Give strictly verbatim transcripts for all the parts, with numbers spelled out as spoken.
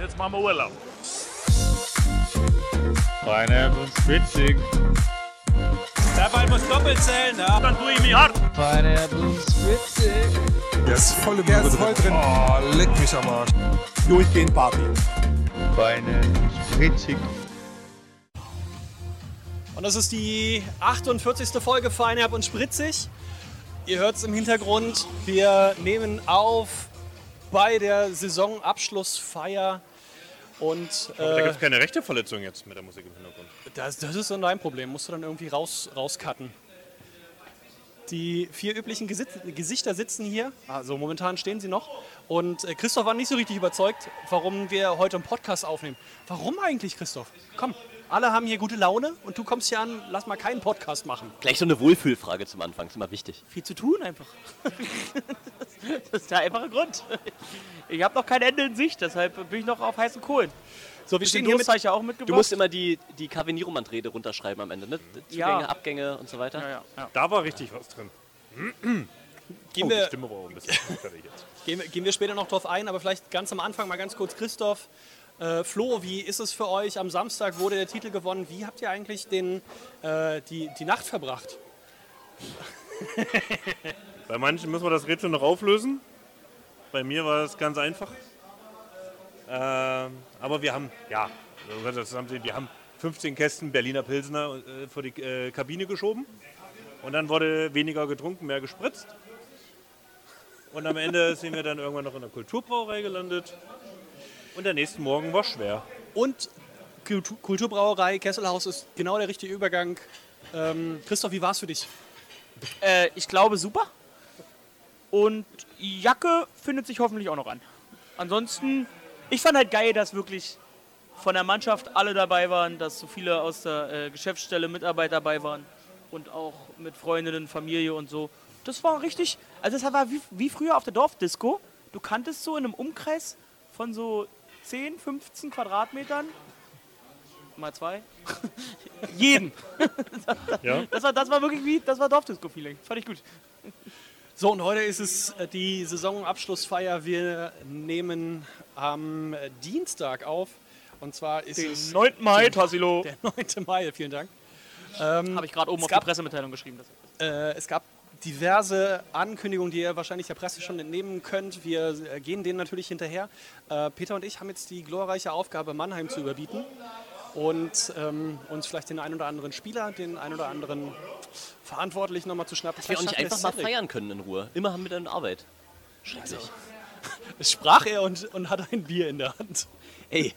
jetzt machen wir Urlaub. Pineapple und Spritzig. Der Ball muss doppelt zählen, ja. Dann tue ich mich hart. Pineapple und Spritzig. Der ist voll im Der ist voll drin. Oh, leck mich am Arsch. Durchgehend Party. Pineapple und Spritzig. Und das ist die achtundvierzigste Folge Feinherb und Spritzig. Ihr hört es im Hintergrund. Wir nehmen auf bei der Saisonabschlussfeier. Und, äh, Aber da gibt es keine rechte Verletzung jetzt mit der Musik im Hintergrund. Das, das ist dann dein Problem. Musst du dann irgendwie raus, rauscutten. Die vier üblichen Gesit- Gesichter sitzen hier. Also momentan stehen sie noch. Und äh, Christoph war nicht so richtig überzeugt, warum wir heute einen Podcast aufnehmen. Warum eigentlich, Christoph? Komm, alle haben hier gute Laune und du kommst hier an, lass mal keinen Podcast machen. Gleich so eine Wohlfühlfrage zum Anfang, ist immer wichtig. Viel zu tun einfach. Das ist der einfache Grund. Ich habe noch kein Ende in Sicht, deshalb bin ich noch auf heißen Kohlen. So, wir stehen hier mit, ja auch mitgebracht. Du musst immer die, die Kavenierumand-Rede runterschreiben am Ende, ne? Zugänge, Ja. Abgänge und so weiter. Ja, ja, ja. Da war richtig was drin. gehen, Oh, die wir, Stimme war auch ein bisschen fertig jetzt. gehen, wir, gehen wir später noch drauf ein, aber vielleicht ganz am Anfang mal ganz kurz Christoph. Äh, Flo, wie ist es für euch? Am Samstag wurde der Titel gewonnen. Wie habt ihr eigentlich den, äh, die, die Nacht verbracht? Bei manchen müssen wir das Rätsel noch auflösen. Bei mir war es ganz einfach. Ähm, aber wir haben, ja, wir haben fünfzehn Kästen Berliner Pilsner äh, vor die äh, Kabine geschoben. Und dann wurde weniger getrunken, mehr gespritzt. Und am Ende sind wir dann irgendwann noch in der Kulturbrauerei gelandet. Und der nächste Morgen war schwer. Und Kultu- Kulturbrauerei Kesselhaus ist genau der richtige Übergang. Ähm, Christoph, wie war es für dich? Äh, ich glaube super. Und Jacke findet sich hoffentlich auch noch an. Ansonsten, ich fand halt geil, dass wirklich von der Mannschaft alle dabei waren, dass so viele aus der äh, Geschäftsstelle Mitarbeiter dabei waren und auch mit Freundinnen, Familie und so. Das war richtig, also das war wie, wie früher auf der Dorfdisco. Du kanntest so in einem Umkreis von so zehn, fünfzehn Quadratmetern, mal zwei, jeden. Ja? Das war, das war wirklich wie, das war Dorfdisco-Feeling. Fand ich gut. So, und heute ist es äh, die Saisonabschlussfeier. Wir nehmen am äh, Dienstag auf. Und zwar ist Den es neunten Mai, Tassilo. der neunte Mai. Vielen Dank. Ähm, Habe ich gerade oben es auf gab- die Pressemitteilung geschrieben. Das Äh, es gab diverse Ankündigungen, die ihr wahrscheinlich der Presse schon entnehmen könnt. Wir äh, gehen denen natürlich hinterher. Äh, Peter und ich haben jetzt die glorreiche Aufgabe, Mannheim zu überbieten und ähm, uns vielleicht den einen oder anderen Spieler, den einen oder anderen Verantwortlichen nochmal zu schnappen. Dass wir auch nicht Vielleicht einfach schafft mal der Cedric. feiern können in Ruhe. Immer haben wir dann Arbeit. Schrecklich. Es sprach er und, und hatte ein Bier in der Hand. Ey,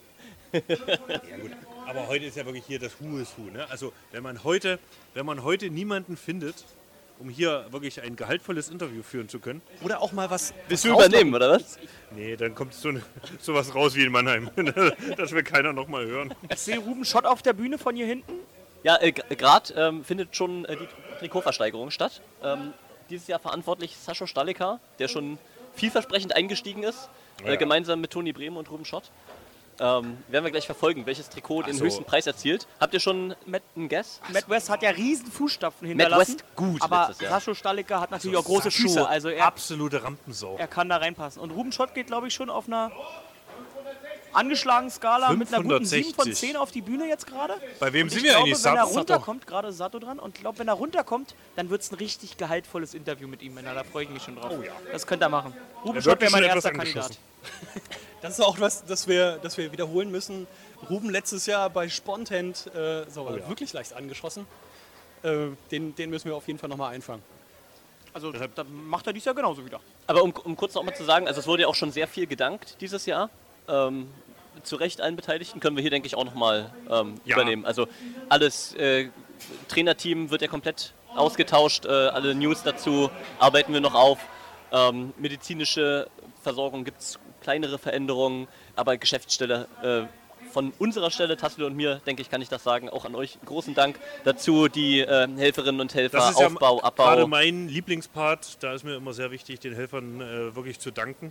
Ja gut, aber heute ist ja wirklich hier das Who is Who. Ne? Also wenn man heute, wenn man heute niemanden findet, um hier wirklich ein gehaltvolles Interview führen zu können, Oder auch mal was. willst was du übernehmen, oder was? nee, dann kommt so ne, sowas raus wie in Mannheim. Das will keiner noch mal hören. Ich sehe Ruben Schott auf der Bühne von hier hinten. Ja, äh, gerade ähm, findet schon äh, die Trikotversteigerung statt. Ähm, dieses Jahr verantwortlich Sascho Stalika, der schon vielversprechend eingestiegen ist, Ja. äh, gemeinsam mit Toni Brehm und Ruben Schott. Ähm, werden wir gleich verfolgen, welches Trikot den so. höchsten Preis erzielt. Habt ihr schon einen Guess? Matt West hat ja riesen Fußstapfen Matt hinterlassen. West gut aber letztes Jahr. Sascho Stalika hat natürlich auch große Sascho, Füße. Also er, absolute Rampensau. er kann da reinpassen. Und Ruben Schott geht, glaube ich, schon auf einer angeschlagenen Skala mit einer guten sieben von fünfhundertsechzig. zehn auf die Bühne jetzt gerade. Bei wem Und sind ich wir glaube, eigentlich? wenn er Sato? runterkommt, gerade Sato dran, und ich glaube, wenn er runterkommt, dann wird es ein richtig gehaltvolles Interview mit ihm. Männer. Da freue ich mich schon drauf. Oh ja. Das könnt ihr machen. Ruben Er Schott wirkt wäre mein schon erster etwas Kandidat. angeschossen. Das ist auch was, das wir, das wir wiederholen müssen. Ruben letztes Jahr bei Spontent äh, so, ja. wirklich leicht angeschossen. Äh, den, den müssen wir auf jeden Fall nochmal einfangen. Also da macht er dies Jahr genauso wieder. Aber um, um kurz noch mal zu sagen, also es wurde ja auch schon sehr viel gedankt dieses Jahr. Ähm, zu Recht allen Beteiligten können wir hier, denke ich, auch nochmal ähm, Ja. übernehmen. Also alles, äh, Trainerteam wird ja komplett ausgetauscht, äh, alle News dazu arbeiten wir noch auf. Ähm, medizinische Versorgung gibt es kleinere Veränderungen, aber Geschäftsstelle äh, von unserer Stelle, Tassilo und mir, denke ich, kann ich das sagen, auch an euch großen Dank dazu, die äh, Helferinnen und Helfer, Das ist ja Aufbau, gerade Abbau. mein Lieblingspart. Da ist mir immer sehr wichtig, den Helfern äh, wirklich zu danken.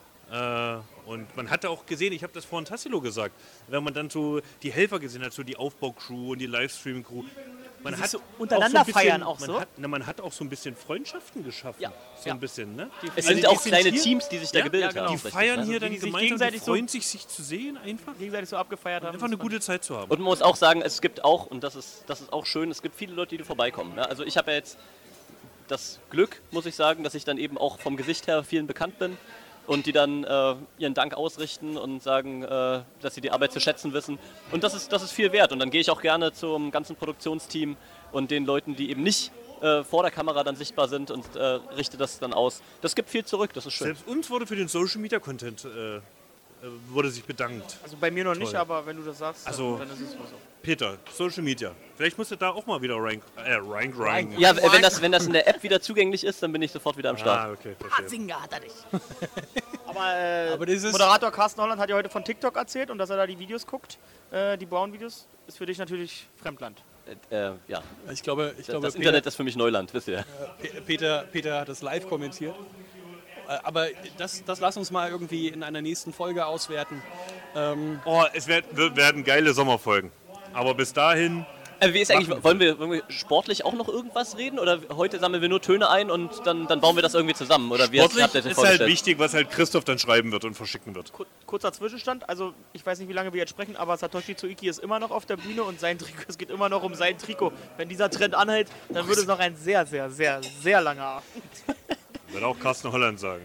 Äh, und man hatte auch gesehen, ich habe das vorhin Tassilo gesagt, wenn man dann so die Helfer gesehen hat, so die Aufbaucrew und die Livestream-Crew, man sich hat so auch untereinander so ein bisschen, feiern auch man so. Hat, na, man hat auch so ein bisschen Freundschaften geschaffen. Ja, so ja. ein bisschen, ne? Es Also sind die auch sind kleine hier- Teams, die sich da Ja, gebildet ja, genau. haben. Die richtig, feiern ne? hier die dann sich gemeinsam, gegenseitig die so- freuen sich, sich zu sehen einfach. gegenseitig so abgefeiert haben. Einfach eine gute Zeit zu haben. Und man muss auch sagen, es gibt auch, und das ist, das ist auch schön, es gibt viele Leute, die vorbeikommen. Ne? Also ich habe ja jetzt das Glück, muss ich sagen, dass ich dann eben auch vom Gesicht her vielen bekannt bin und die dann äh, ihren Dank ausrichten und sagen, äh, dass sie die Arbeit zu schätzen wissen. Und das ist, das ist viel wert. Und dann gehe ich auch gerne zum ganzen Produktionsteam und den Leuten, die eben nicht äh, vor der Kamera dann sichtbar sind und äh, richte das dann aus. Das gibt viel zurück, das ist schön. Selbst uns wurde für den Social Media Content äh, äh, wurde sich bedankt. Also bei mir noch nicht, Toll. aber wenn du das sagst, Also- dann ist es so. Peter, Social Media. Vielleicht musst du da auch mal wieder rein, äh, rein, rein. Ja, äh, wenn das, wenn das in der App wieder zugänglich ist, dann bin ich sofort wieder am Start. Ah, okay, verstehe. Singer hat er nicht. aber äh, Aber dieses- Moderator Carsten Holland hat ja heute von TikTok erzählt und dass er da die Videos guckt, äh, die Brown-Videos, ist für dich natürlich Fremdland. Äh, äh, ja, Ich glaube, ich das, glaube das Peter, Internet ist für mich Neuland, wisst ihr. Pe- Peter, Peter hat das live kommentiert. Äh, Aber das, das lass uns mal irgendwie in einer nächsten Folge auswerten. Ähm, Oh, es werd, wird- werden geile Sommerfolgen. Aber bis dahin, Äh, wie ist eigentlich, wollen wir, wollen wir sportlich auch noch irgendwas reden? Oder heute sammeln wir nur Töne ein und dann, dann bauen wir das irgendwie zusammen? Oder wie sportlich habt ihr das ist halt vorgestellt? wichtig, was halt Christoph dann schreiben wird und verschicken wird. Kur- Kurzer Zwischenstand, also ich weiß nicht, wie lange wir jetzt sprechen, aber Satoshi Tsuiki ist immer noch auf der Bühne und sein Trikot, es geht immer noch um sein Trikot. Wenn dieser Trend anhält, dann würde es noch ein sehr, sehr, sehr, sehr langer Abend. Wird auch Carsten Holland sagen.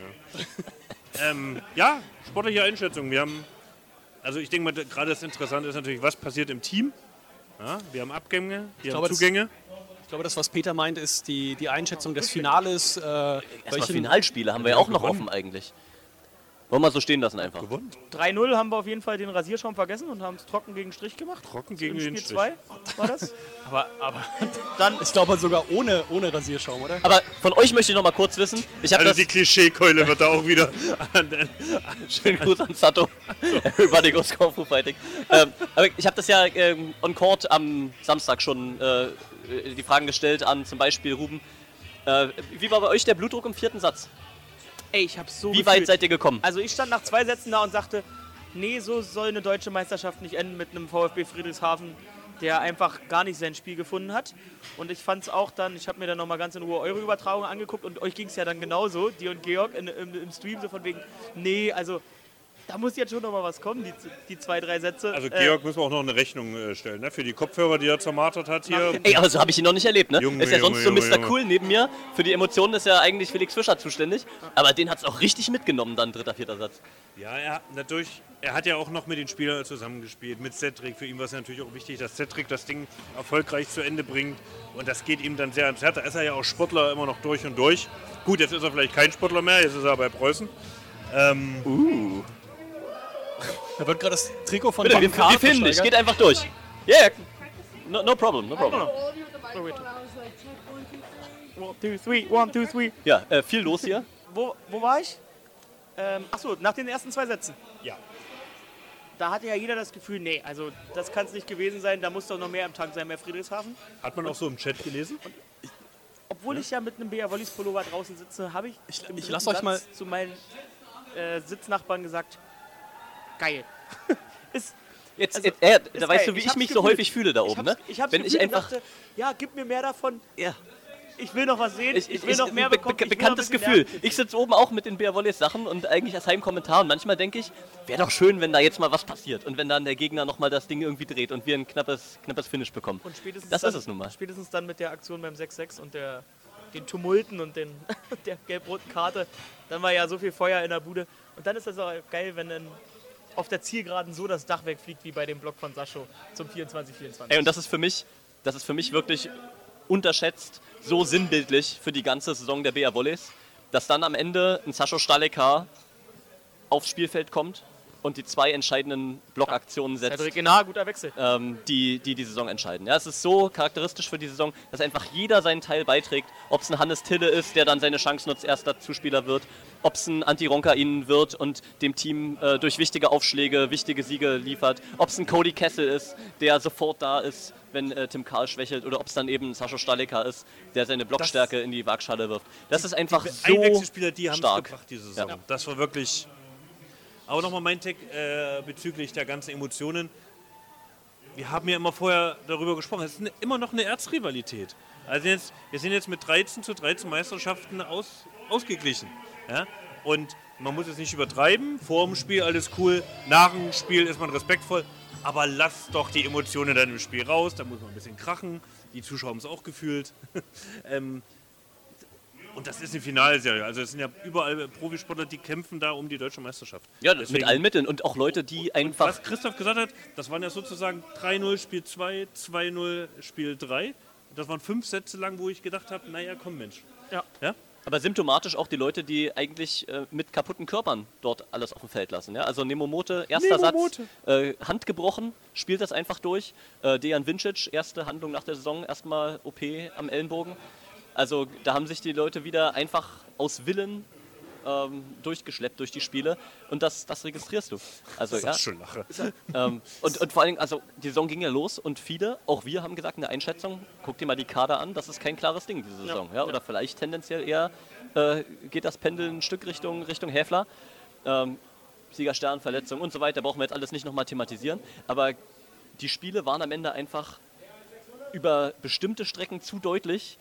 Ja, ähm, ja sportliche Einschätzung. Wir haben, also ich denke mal, gerade das Interessante ist natürlich, was passiert im Team. Ja, wir haben Abgänge, wir glaube, haben das- Zugänge. ich glaube, das, was Peter meint, ist die, die Einschätzung des Finales. Äh, Erstmal welchen- Finalspiele haben wir ja auch noch gewonnen. offen eigentlich. Wollen wir so stehen lassen einfach. Gewonnen. drei null haben wir auf jeden Fall den Rasierschaum vergessen und haben es trocken gegen Strich gemacht. Trocken gegen Im den Spiel Strich. zwei war das. Aber, aber Dann ich glaube sogar ohne, ohne Rasierschaum, oder? Aber von euch möchte ich noch mal kurz wissen. Ich habe Also das. die Klischeekeule wird da auch wieder an den, Schönen Gruß an Sato. Everybody goes Kung Fu Fighting. ähm, aber ich habe das ja ähm, on Court am Samstag schon äh, die Fragen gestellt an zum Beispiel Ruben. Äh, wie war bei euch der Blutdruck im vierten Satz? Ey, ich hab's so Wie gefühlt. weit seid ihr gekommen? Also ich stand nach zwei Sätzen da und sagte, nee, so soll eine deutsche Meisterschaft nicht enden mit einem VfB Friedrichshafen, der einfach gar nicht sein Spiel gefunden hat. Und ich fand's auch dann, ich habe mir dann nochmal ganz in Ruhe eure Übertragung angeguckt und euch ging's ja dann genauso, dir und Georg in, im, im Stream so von wegen, nee, also da muss jetzt schon nochmal was kommen, die, die zwei, drei Sätze. also Äh, Georg müssen wir auch noch eine Rechnung äh, stellen, ne? Für die Kopfhörer, die er zermartert hat hier. Ey, aber so habe ich ihn noch nicht erlebt, ne? Junge, ist ja Junge, sonst so Junge, Mister Junge. Cool neben mir. Für die Emotionen ist ja eigentlich Felix Fischer zuständig. Aber den hat es auch richtig mitgenommen, dann dritter, vierter Satz. Ja, er, natürlich, er hat ja auch noch mit den Spielern zusammengespielt, mit Cedric. Für ihn war es natürlich auch wichtig, dass Cedric das Ding erfolgreich zu Ende bringt. Und das geht ihm dann sehr ans Herz. Da ist er ja auch Sportler immer noch durch und durch. Gut, jetzt ist er vielleicht kein Sportler mehr, jetzt ist er bei Preußen. Ähm, Uh. Da wird gerade das Trikot von Bitte, wir, Baumgart wir filmen dich, versteigert. geht einfach durch. Yeah, no, no problem, no problem. One, two, three, one, two, three. Ja, äh, viel los hier. Wo, wo war ich? Ähm, achso, nach den ersten zwei Sätzen. ja. Da hatte ja jeder das Gefühl, nee, also das kann es nicht gewesen sein, da muss doch noch mehr im Tank sein, mehr Friedrichshafen. Hat man auch so im Chat gelesen? Obwohl ich ja mit einem B R Wollis Pullover draußen sitze, habe ich, Ich- im ich dritten lass euch Satz mal- zu meinen äh, Sitznachbarn gesagt, geil. ist, Jetzt, Also, jetzt, äh, ist da weißt geil. du, wie Ich ich hab's mich so gefühlt. häufig fühle da ich oben, hab's, ne? ich hab's Wenn ich gefühlt und einfach. dachte, ja, gib mir mehr davon, Ja. ich will noch was sehen, ich, Ich, will ich, noch mehr be bekommen. be ich will noch bekanntes ein bisschen Gefühl. lernen. Ich sitze oben auch mit den Bär Wolleys Sachen und eigentlich als Heimkommentar und manchmal denke ich, wäre doch schön, wenn da jetzt mal was passiert und wenn dann der Gegner nochmal das Ding irgendwie dreht und wir ein knappes, knappes Finish bekommen. Und spätestens Das dann, ist es nun mal. Spätestens dann mit der Aktion beim sechs sechs und der, den Tumulten und den, der gelb-roten Karte, dann war ja so viel Feuer in der Bude. Und dann ist das auch geil, wenn dann auf der Zielgeraden so das Dach wegfliegt wie bei dem Block von Sascho zum vierundzwanzig vierundzwanzig. Ey, und das ist für mich, das ist für mich wirklich unterschätzt, so sinnbildlich für die ganze Saison der B R Wolleys, dass dann am Ende ein Sascho Stalekar aufs Spielfeld kommt und die zwei entscheidenden Blockaktionen setzt. Cedric Genar, guter Wechsel. ähm, die, die die Saison entscheiden. Ja, es ist so charakteristisch für die Saison, dass einfach jeder seinen Teil beiträgt. Ob es ein Hannes Tille ist, der dann seine Chance nutzt, erster Zuspieler wird. Ob es ein Antti Ronkainen wird und dem Team äh, durch wichtige Aufschläge wichtige Siege liefert. Ob es ein Cody Kessel ist, der sofort da ist, wenn äh, Tim Karl schwächelt. Oder ob es dann eben Sascha Staleka ist, der seine Blockstärke in die Waagschale wirft. Das ist einfach so Einwechselspieler, die haben es stark. gebracht diese Saison. Ja. Das war wirklich. Aber nochmal mein Tag äh, bezüglich der ganzen Emotionen. wir haben ja immer vorher darüber gesprochen, es ist eine, immer noch eine Erzrivalität. Also jetzt, wir sind jetzt mit dreizehn zu dreizehn Meisterschaften aus, ausgeglichen. Ja? Und man muss es nicht übertreiben, vor dem Spiel alles cool, nach dem Spiel ist man respektvoll, aber lasst doch die Emotionen dann im Spiel raus, da muss man ein bisschen krachen, die Zuschauer haben es auch gefühlt. ähm, und das ist eine Finalserie, also es sind ja überall Profisportler, die kämpfen da um die deutsche Meisterschaft. Ja, Deswegen, mit allen Mitteln und auch Leute, die einfach... was Christoph gesagt hat, das waren ja sozusagen drei null Spiel zwei, zwei null Spiel drei. Das waren fünf Sätze lang, wo ich gedacht habe, naja, komm Mensch. Ja. Ja? Aber symptomatisch auch die Leute, die eigentlich äh, mit kaputten Körpern dort alles auf dem Feld lassen. Ja? Also Nemomote, erster Nemomote. Satz, äh, Hand gebrochen, spielt das einfach durch. Äh, Dejan Vincic, erste Handlung nach der Saison, erstmal O P am Ellenbogen. Also da haben sich die Leute wieder einfach aus Willen ähm, durchgeschleppt durch die Spiele und das, das registrierst du. Also, Das ist ja, auch schon Lache. ähm, und, und vor allem, also die Saison ging ja los und viele, auch wir haben gesagt, eine Einschätzung, guck dir mal die Kader an, das ist kein klares Ding diese Saison. Ja, ja, oder vielleicht tendenziell eher äh, geht das Pendel ein Stück Richtung, Richtung Häfler. Ähm, Siegerstern, Verletzung und so weiter, brauchen wir jetzt alles nicht nochmal thematisieren. Aber die Spiele waren am Ende einfach über bestimmte Strecken zu deutlich,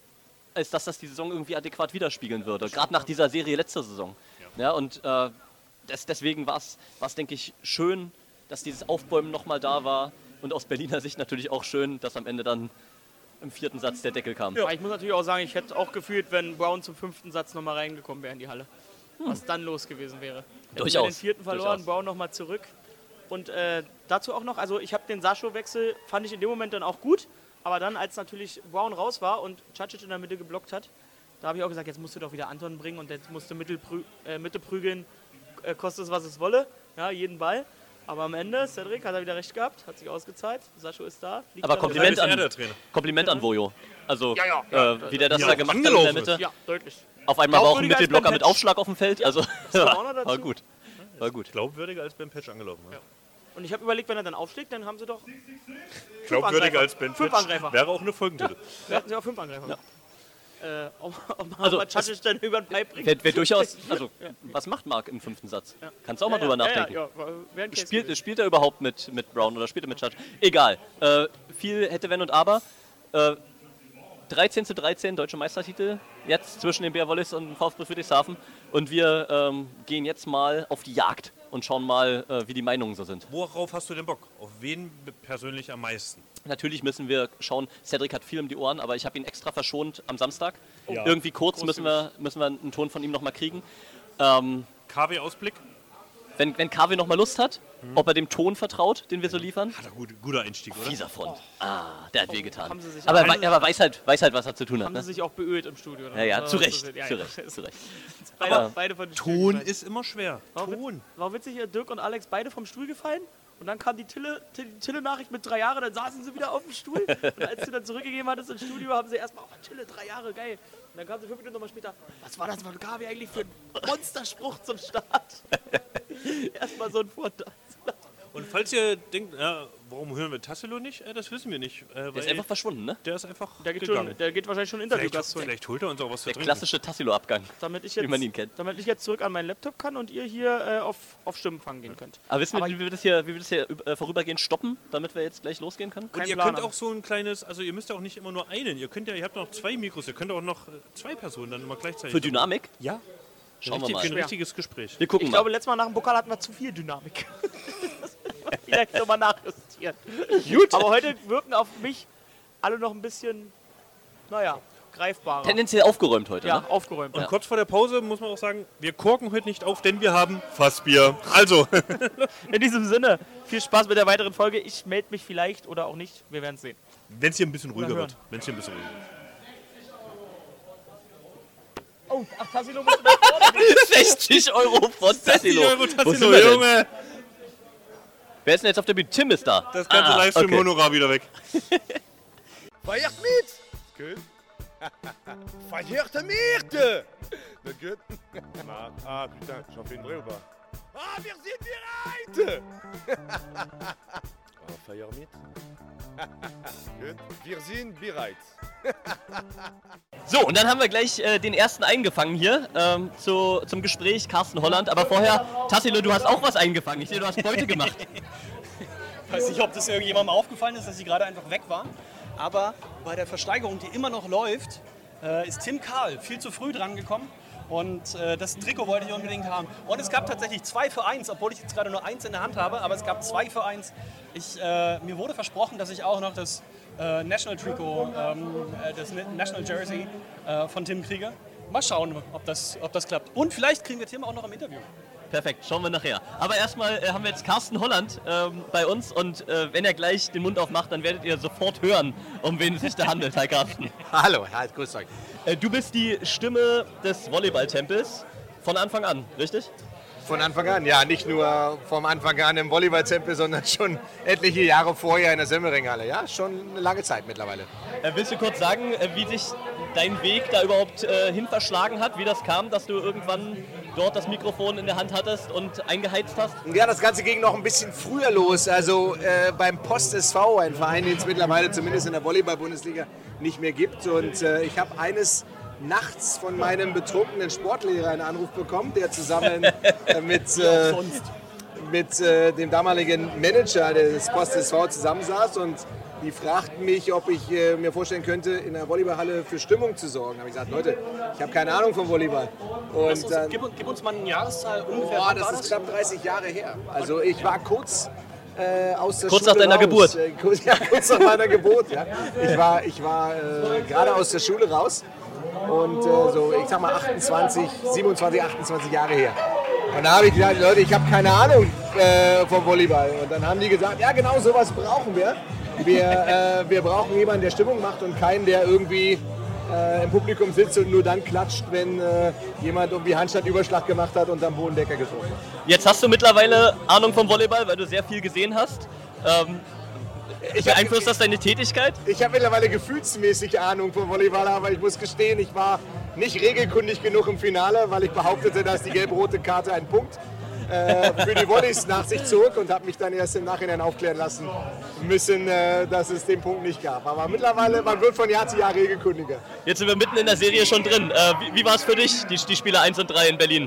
als dass das die Saison irgendwie adäquat widerspiegeln würde. Gerade nach dieser Serie letzter Saison. Ja, ja und äh, des, deswegen war es, denke ich, schön, dass dieses Aufbäumen nochmal da war. Und aus Berliner Sicht natürlich auch schön, dass am Ende dann im vierten Satz der Deckel kam. Ja. Ich muss natürlich auch sagen, ich hätte auch gefühlt, wenn Brown zum fünften Satz nochmal reingekommen wäre in die Halle. Hm. Was dann los gewesen wäre. Hätten wir Durchaus. den vierten verloren, Durchaus. Brown nochmal zurück. Und äh, dazu auch noch, also ich habe den Sascho-Wechsel, fand ich in dem Moment dann auch gut. Aber dann, als natürlich Brown raus war und Cacic in der Mitte geblockt hat, da habe ich auch gesagt, jetzt musst du doch wieder Anton bringen und jetzt musst du Mitte, prü äh, Mitte prügeln, äh, kostet es, was es wolle, ja, jeden Ball. Aber am Ende, Cedric hat er wieder recht gehabt, hat sich ausgezahlt, Sascho ist da. fliegt Aber da Kompliment Das ist er an, der Trainer. Kompliment an Vojo. Also, Ja, ja, ja. äh, wie der das Ja, da auch gemacht hat in der angelaufen Mitte. ist. Ja, deutlich. Auf einmal war auch ein Glaubwürdiger als Mittelblocker Ben mit Petsch. Aufschlag auf dem Feld. Also, kam auch noch dazu. war gut. War gut. Glaubwürdiger als Ben Patch angelaufen. Ja. Und ich habe überlegt, wenn er dann aufschlägt, dann haben sie doch Glaubwürdiger Angreifer. als Ben Fünf Patch Angreifer. wäre auch eine Folgentitel. da hatten sie auch fünf Angreifer. Äh, ob, ob Also, man Cacic dann über den Pipe bringt. Wäre wär durchaus, also, was macht Marc im fünften Satz? Kannst du auch mal drüber nachdenken. Ja, ja, ja, wär ein Case Spielt, gewesen. spielt er überhaupt mit, mit Brown oder spielt er mit Church? Egal. Äh, viel hätte Wenn und Aber. Äh, dreizehn zu dreizehn, deutsche Meistertitel. Jetzt zwischen dem B R Wallis und dem VfB Friedrichshafen. Und wir ähm, gehen jetzt mal auf die Jagd und schauen mal, äh, wie die Meinungen so sind. Worauf hast du denn Bock? Auf wen persönlich am meisten? Natürlich müssen wir schauen, Cedric hat viel um die Ohren, aber ich habe ihn extra verschont am Samstag. Ja. Irgendwie kurz müssen wir, müssen wir einen Ton von ihm nochmal kriegen. Ähm, K W-Ausblick? wenn, wenn K W nochmal Lust hat, ob er dem Ton vertraut, den wir so liefern. Hat er gut, guter Einstieg, oder? Dieser Front. Ah, der hat wehgetan. Haben sie sich Aber, alle- wei- aber weiß, halt, weiß halt, was er zu tun hat. Haben sie Ne? sich auch beölt im Studio. Ja, ja, So, zu Recht. so sind- ja, Zu ja. Recht. Zu Recht. Beide, Aber beide von den Ton Stühlen gefallen. ist immer schwer. War, witz, Ton. war witzig, hier Dirk und Alex beide vom Stuhl gefallen. Und dann kam die Tille- Till- die Tille-Nachricht mit drei Jahren, dann saßen sie wieder auf dem Stuhl. Und als du dann zurückgegeben hattest ins Studio, haben sie erstmal, oh Tille, drei Jahre, geil. Und dann kamen sie fünf Minuten nochmal später, was war das von Gabi eigentlich für ein Monsterspruch zum Start? Erstmal so ein Vorteil. Und falls ihr denkt, ja, warum hören wir Tassilo nicht? Äh, das wissen wir nicht. Äh, Der weil ist einfach verschwunden, ne? der ist einfach Der geht, gegangen. schon, der geht wahrscheinlich schon Vielleicht, Interviewgast holen. vielleicht holt er uns auch was zu Der trinken. klassische Tassilo-Abgang. Damit ich wie man ihn jetzt, kennt. damit ich jetzt zurück an meinen Laptop kann und ihr hier äh, auf, auf Stimmenfang gehen könnt. Aber wissen wir, Aber- wie wir das hier, wie wir das hier äh, vorübergehend stoppen, damit wir jetzt gleich losgehen können? Und kein ihr Plan könnt haben. auch so ein kleines, also ihr müsst ja auch nicht immer nur einen, ihr könnt ja, ihr habt noch zwei Mikros, ihr könnt auch noch äh, zwei Personen dann immer gleichzeitig. Für Dynamik? Ja. Schauen wir Richtig, mal. Für ein richtiges Gespräch. Wir gucken Ich mal. glaube, letztes Mal nach dem Pokal hatten wir zu viel Dynamik. Vielleicht nochmal nachjustieren. Gut. Aber heute wirken auf mich alle noch ein bisschen, naja, greifbarer. Tendenziell aufgeräumt heute, ja, ne? aufgeräumt. Und kurz vor der Pause muss man auch sagen, wir korken heute nicht auf, denn wir haben Fassbier. Also, In diesem Sinne, viel Spaß mit der weiteren Folge. Ich melde mich vielleicht oder auch nicht. Wir werden es sehen. wenn es hier ein bisschen ruhiger hören. wird. Wenn es hier ein bisschen ruhiger wird. Oh, ach, Tassilo muss nach vorne. sechzig Euro von Tassilo. Euro Wo sind Tassilo, wir denn? Junge! Wer ist denn jetzt auf der Bühne? Tim ist da. Das ganze Ah, Livestream-Honorar wieder weg. Feiert mit! Gut. Feiert mit! Na gut. Na, ah, putain, j'en fais une vraie ou pas? Ah, wir sind bereit! Ah, feiert mit? Gut. Wir sind bereit. So, und dann haben wir gleich äh, den ersten eingefangen hier ähm, zu, zum Gespräch, Carsten Holland. Aber vorher, Tassilo, du hast auch was eingefangen. Ich sehe, du hast Beute gemacht. Ich weiß nicht, ob das irgendjemandem aufgefallen ist, dass sie gerade einfach weg war. Aber bei der Versteigerung, die immer noch läuft, äh, ist Tim Karl viel zu früh dran gekommen. Und äh, das Trikot wollte ich unbedingt haben. Und es gab tatsächlich zwei für eins, obwohl ich jetzt gerade nur eins in der Hand habe. Aber es gab zwei für eins. Ich, äh, mir wurde versprochen, dass ich auch noch das äh, National Trikot, ähm, das National Jersey äh, von Tim kriege. Mal schauen, ob das, ob das klappt. Und vielleicht kriegen wir Tim auch noch im Interview. Perfekt, schauen wir nachher. Aber erstmal äh, haben wir jetzt Carsten Holland ähm, bei uns und äh, wenn er gleich den Mund aufmacht, dann werdet ihr sofort hören, um wen es sich da handelt. Hi Carsten. Hallo, hi, grüß euch. Äh, du bist die Stimme des Volleyballtempels von Anfang an, richtig? Von Anfang an, ja, nicht nur vom Anfang an im Volleyballtempel, sondern schon etliche Jahre vorher in der Semmering-Halle. Ja, schon eine lange Zeit mittlerweile. Äh, willst du kurz sagen, äh, wie sich dein Weg da überhaupt äh, hin verschlagen hat, wie das kam, dass du irgendwann dort das Mikrofon in der Hand hattest und eingeheizt hast? Ja, das Ganze ging noch ein bisschen früher los. Also äh, beim Post S V, ein Verein, den es mittlerweile zumindest in der Volleyball-Bundesliga nicht mehr gibt. Und äh, ich habe eines nachts von meinem betrunkenen Sportlehrer einen Anruf bekommen, der zusammen äh, mit, äh, mit äh, dem damaligen Manager des Post S V zusammensaß und die fragten mich, ob ich äh, mir vorstellen könnte, in der Volleyballhalle für Stimmung zu sorgen. Da habe ich gesagt, Leute, ich habe keine Ahnung vom Volleyball. Und uns, dann, gib, gib uns mal eine Jahreszahl ungefähr. Boah, das ist knapp dreißig Jahre her. Also ich war kurz äh, aus der kurz Schule nach deiner raus. Geburt. Äh, kurz, ja, kurz nach meiner Geburt. Ja. Ich war, ich war äh, gerade aus der Schule raus und äh, so, ich sag mal achtundzwanzig, siebenundzwanzig, achtundzwanzig Jahre her. Und da habe ich gesagt, Leute, ich habe keine Ahnung äh, vom Volleyball. Und dann haben die gesagt, ja genau sowas brauchen wir. Wir, äh, wir brauchen jemanden, der Stimmung macht und keinen, der irgendwie äh, im Publikum sitzt und nur dann klatscht, wenn äh, jemand irgendwie Handstandüberschlag gemacht hat und am Bodendecker getroffen hat. Jetzt hast du mittlerweile Ahnung vom Volleyball, weil du sehr viel gesehen hast. Ähm, beeinflusst das deine Tätigkeit? Ich habe mittlerweile gefühlsmäßig Ahnung vom Volleyball, aber ich muss gestehen, ich war nicht regelkundig genug im Finale, weil ich behauptete, dass die gelb-rote Karte einen Punkt äh, für die Volleys nach sich zog und habe mich dann erst im Nachhinein aufklären lassen müssen, äh, dass es den Punkt nicht gab. Aber mittlerweile, man wird von Jahr zu Jahr regelkundiger. Jetzt sind wir mitten in der Serie schon drin. Äh, wie wie war es für dich, die, die Spiele eins und drei in Berlin?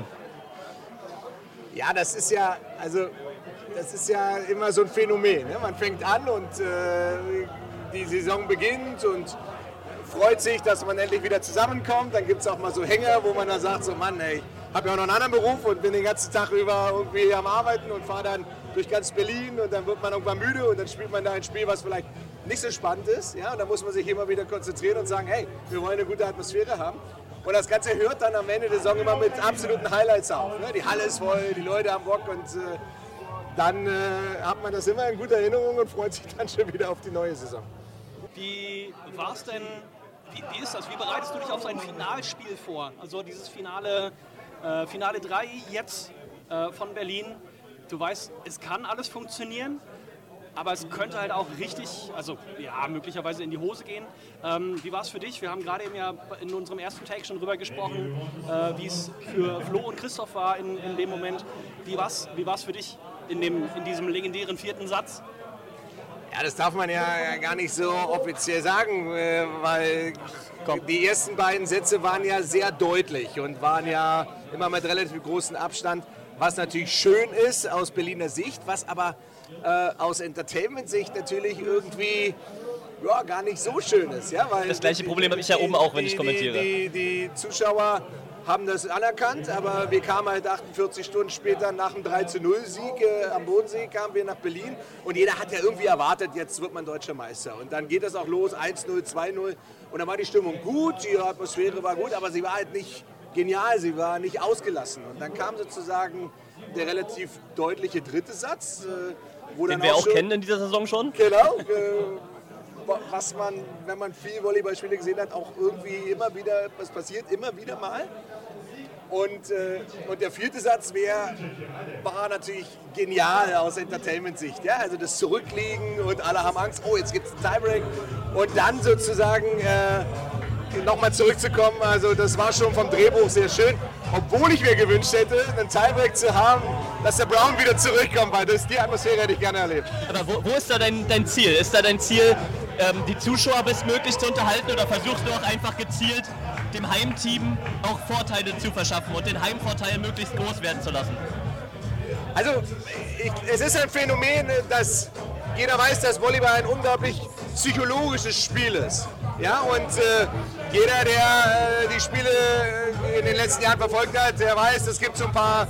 Ja, das ist ja, also das ist ja immer so ein Phänomen. Ne? Man fängt an und äh, die Saison beginnt und freut sich, dass man endlich wieder zusammenkommt. Dann gibt es auch mal so Hänger, wo man dann sagt, so Mann, ey, habe ja auch noch einen anderen Beruf und bin den ganzen Tag über irgendwie am Arbeiten und fahre dann durch ganz Berlin und dann wird man irgendwann müde und dann spielt man da ein Spiel, was vielleicht nicht so spannend ist. Ja? Und dann muss man sich immer wieder konzentrieren und sagen, hey, wir wollen eine gute Atmosphäre haben. Und das Ganze hört dann am Ende der Saison immer mit absoluten Highlights auf. Ne? Die Halle ist voll, die Leute haben Bock und äh, dann äh, hat man das immer in guter Erinnerung und freut sich dann schon wieder auf die neue Saison. Wie war es denn, wie, wie ist das, wie bereitest du dich auf so ein Finalspiel vor? Also dieses Finale, äh, Finale drei jetzt äh, von Berlin. Du weißt, es kann alles funktionieren, aber es könnte halt auch richtig, also ja, möglicherweise in die Hose gehen. Ähm, wie war es für dich? Wir haben gerade eben ja in unserem ersten Take schon drüber gesprochen, äh, wie es für Flo und Christoph war in, in dem Moment. Wie war es wie war's für dich in, dem, in diesem legendären vierten Satz? Ja, das darf man ja gar nicht so offiziell sagen, weil die ersten beiden Sätze waren ja sehr deutlich und waren ja immer mit relativ großem Abstand, was natürlich schön ist aus Berliner Sicht, was aber äh, aus Entertainment-Sicht natürlich irgendwie ja, gar nicht so schön ist. Ja? Weil das gleiche Problem habe ich ja oben auch, wenn ich kommentiere. Die, die, die Zuschauer haben das anerkannt, aber wir kamen halt achtundvierzig Stunden später nach dem drei zu null Sieg äh, am Bodensee, kamen wir nach Berlin und jeder hat ja irgendwie erwartet, jetzt wird man deutscher Meister. Und dann geht das auch los, eins null, zwei null und dann war die Stimmung gut, die Atmosphäre war gut, aber sie war halt nicht genial, sie war nicht ausgelassen. Und dann kam sozusagen der relativ deutliche dritte Satz. Äh, wo Den dann wir auch auch schon, kennen in dieser Saison schon. Genau. Äh, was man, wenn man viel Volleyballspiele gesehen hat, auch irgendwie immer wieder, was passiert, immer wieder mal. Und, äh, und der vierte Satz wär, war natürlich genial aus Entertainment-Sicht. Ja? Also das Zurückliegen und alle haben Angst, oh, jetzt gibt es einen Tiebreak. Und dann sozusagen äh, nochmal zurückzukommen, also das war schon vom Drehbuch sehr schön. Obwohl ich mir gewünscht hätte, einen Tiebreak zu haben, dass der Brown wieder zurückkommt, weil das, die Atmosphäre hätte ich gerne erlebt. Aber wo, wo ist da dein, dein Ziel? Ist da dein Ziel, ähm, die Zuschauer bestmöglich zu unterhalten oder versuchst du auch einfach gezielt dem Heimteam auch Vorteile zu verschaffen und den Heimvorteil möglichst groß werden zu lassen? Also ich, es ist ein Phänomen, dass jeder weiß, dass Volleyball ein unglaublich psychologisches Spiel ist. Ja, und äh, jeder, der äh, die Spiele in den letzten Jahren verfolgt hat, der weiß, es gibt so ein paar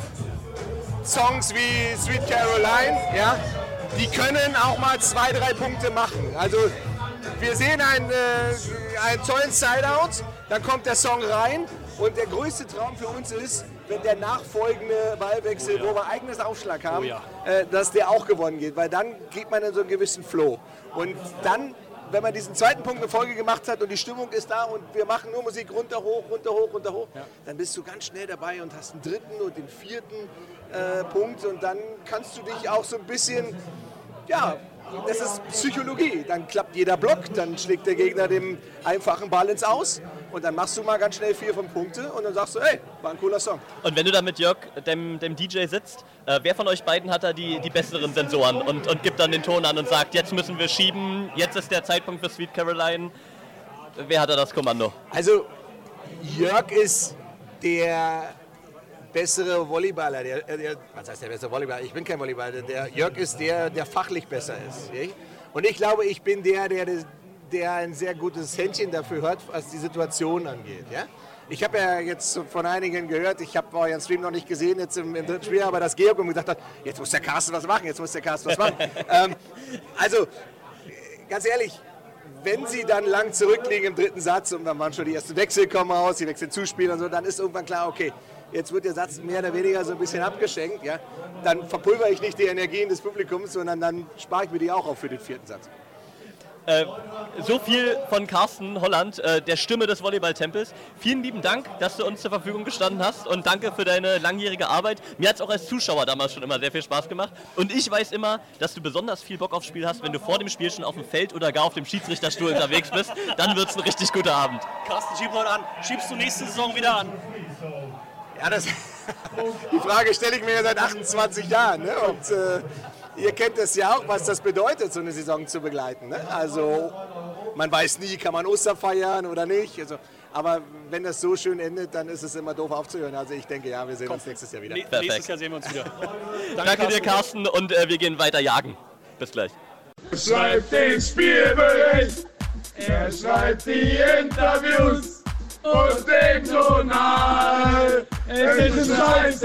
Songs wie Sweet Caroline, ja, die können auch mal zwei, drei Punkte machen. Also wir sehen einen, äh, einen tollen Sideout, dann kommt der Song rein und der größte Traum für uns ist, wenn der nachfolgende Ballwechsel, wo wir eigenes Aufschlag haben, Oh ja. äh, dass der auch gewonnen geht, weil dann geht man in so einen gewissen Flow. Und dann, wenn man diesen zweiten Punkt in Folge gemacht hat und die Stimmung ist da und wir machen nur Musik runter, hoch, runter, hoch, runter, hoch, ja. dann bist du ganz schnell dabei und hast einen dritten und den vierten äh, Punkt und dann kannst du dich auch so ein bisschen, ja, das ist Psychologie. Dann klappt jeder Block, dann schlägt der Gegner den einfachen Ball ins Aus und dann machst du mal ganz schnell vier, fünf Punkte und dann sagst du, hey, war ein cooler Song. Und wenn du da mit Jörg, dem, dem D J, sitzt, äh, wer von euch beiden hat da die, die besseren Sensoren und, und gibt dann den Ton an und sagt, jetzt müssen wir schieben, jetzt ist der Zeitpunkt für Sweet Caroline. Wer hat da das Kommando? Also Jörg ist der bessere Volleyballer. Der, der, was heißt der bessere Volleyballer? Ich bin kein Volleyballer. Der Jörg ist der, der fachlich besser ist. Und ich glaube, ich bin der, der, der ein sehr gutes Händchen dafür hat, was die Situation angeht. Ja? Ich habe ja jetzt von einigen gehört, ich habe euren Stream noch nicht gesehen jetzt im, im dritten Spiel, aber dass Georg gesagt hat, jetzt muss der Carsten was machen, jetzt muss der Carsten was machen. ähm, also, ganz ehrlich, wenn sie dann lang zurückliegen im dritten Satz und dann waren schon die ersten Wechsel kommen raus, die Wechsel zuspielen und so, dann ist irgendwann klar, okay, jetzt wird der Satz mehr oder weniger so ein bisschen abgeschenkt, ja, dann verpulver ich nicht die Energien des Publikums, sondern dann spare ich mir die auch auf für den vierten Satz. Äh, so viel von Carsten Holland, äh, der Stimme des Volleyball-Tempels. Vielen lieben Dank, dass du uns zur Verfügung gestanden hast und danke für deine langjährige Arbeit. Mir hat es auch als Zuschauer damals schon immer sehr viel Spaß gemacht und ich weiß immer, dass du besonders viel Bock aufs Spiel hast, wenn du vor dem Spiel schon auf dem Feld oder gar auf dem Schiedsrichterstuhl unterwegs bist, dann wird es ein richtig guter Abend. Carsten, schieb heute an. Schiebst du nächste Saison wieder an? Ja, das, die Frage stelle ich mir ja seit achtundzwanzig Jahren. Ne? Und äh, ihr kennt es ja auch, was das bedeutet, so eine Saison zu begleiten. Ne? Also man weiß nie, kann man Ostern feiern oder nicht. Also, aber wenn das so schön endet, dann ist es immer doof aufzuhören. Also ich denke, ja, wir sehen Komm. uns nächstes Jahr wieder. Nee, nächstes Jahr sehen wir uns wieder. Danke, Danke dir, Carsten, und äh, wir gehen weiter jagen. Bis gleich. Er schreibt den Spielbericht, er schreibt die Interviews und den Journal. Es ist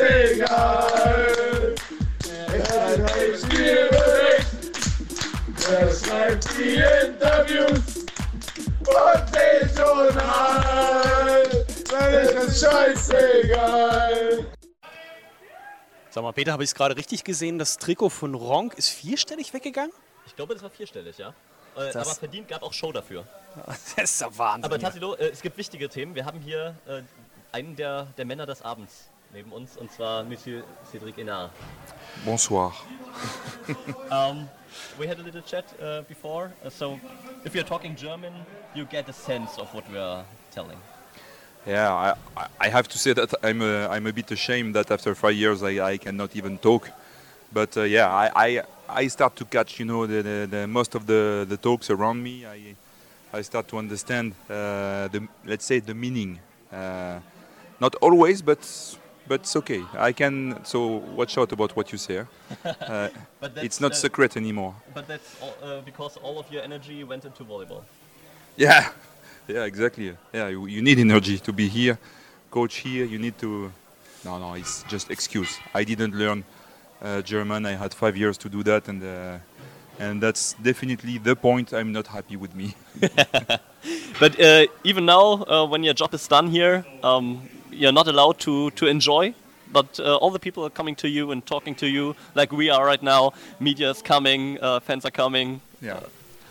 scheißegal. Er schreibt den Spielbericht, er schreibt die Interviews und den Journal. Es ist scheißegal. Sag mal, Peter, habe ich es gerade richtig gesehen? Das Trikot von Ronk ist vierstellig weggegangen? Ich glaube, das war vierstellig, ja. Äh, aber verdient gab auch Show dafür. Das ist ja Wahnsinn. Aber Tassilo, äh, es gibt wichtige Themen. Wir haben hier äh, einen der, der Männer des Abends neben uns, und zwar Monsieur Cédric Hénard. Bonsoir. um, we had a little chat uh, before, uh, so if you're talking German, you get a sense of what we are telling. Yeah, I, I have to say that I'm a, I'm a bit ashamed that after five years I, I cannot even talk. But uh, yeah, I, I I start to catch, you know, the, the, the most of the, the talks around me. I I start to understand uh, the, let's say, the meaning. Uh, not always, but but it's okay. I can, so watch out about what you say. Uh, it's not uh, secret anymore. But that's all, uh, because all of your energy went into volleyball. Yeah, yeah, exactly. Yeah, you, you need energy to be here, coach here. You need to. No, no, it's just excuse. I didn't learn uh, German. I had five years to do that, and uh, and that's definitely the point. I'm not happy with me. But uh, even now, uh, when your job is done here, um, you're not allowed to to enjoy. But uh, all the people are coming to you and talking to you, like we are right now. Media is coming, uh, fans are coming. Yeah.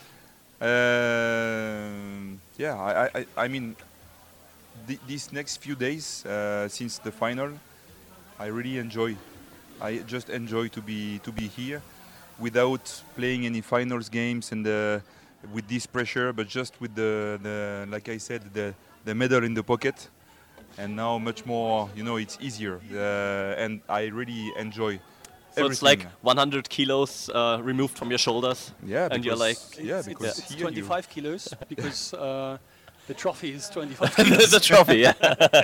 Uh, yeah, I, I, I mean, th these next few days uh, since the final, I really enjoy. I just enjoy to be to be here, without playing any finals games and uh, with this pressure, but just with the, the like I said, the the medal in the pocket, and now much more. You know, it's easier, uh, and I really enjoy. So everything. It's like one hundred kilos uh, removed from your shoulders. Yeah, and you're like, yeah, because it's, it's twenty-five kilos because uh, the trophy is twenty-five kilos. The trophy, yeah.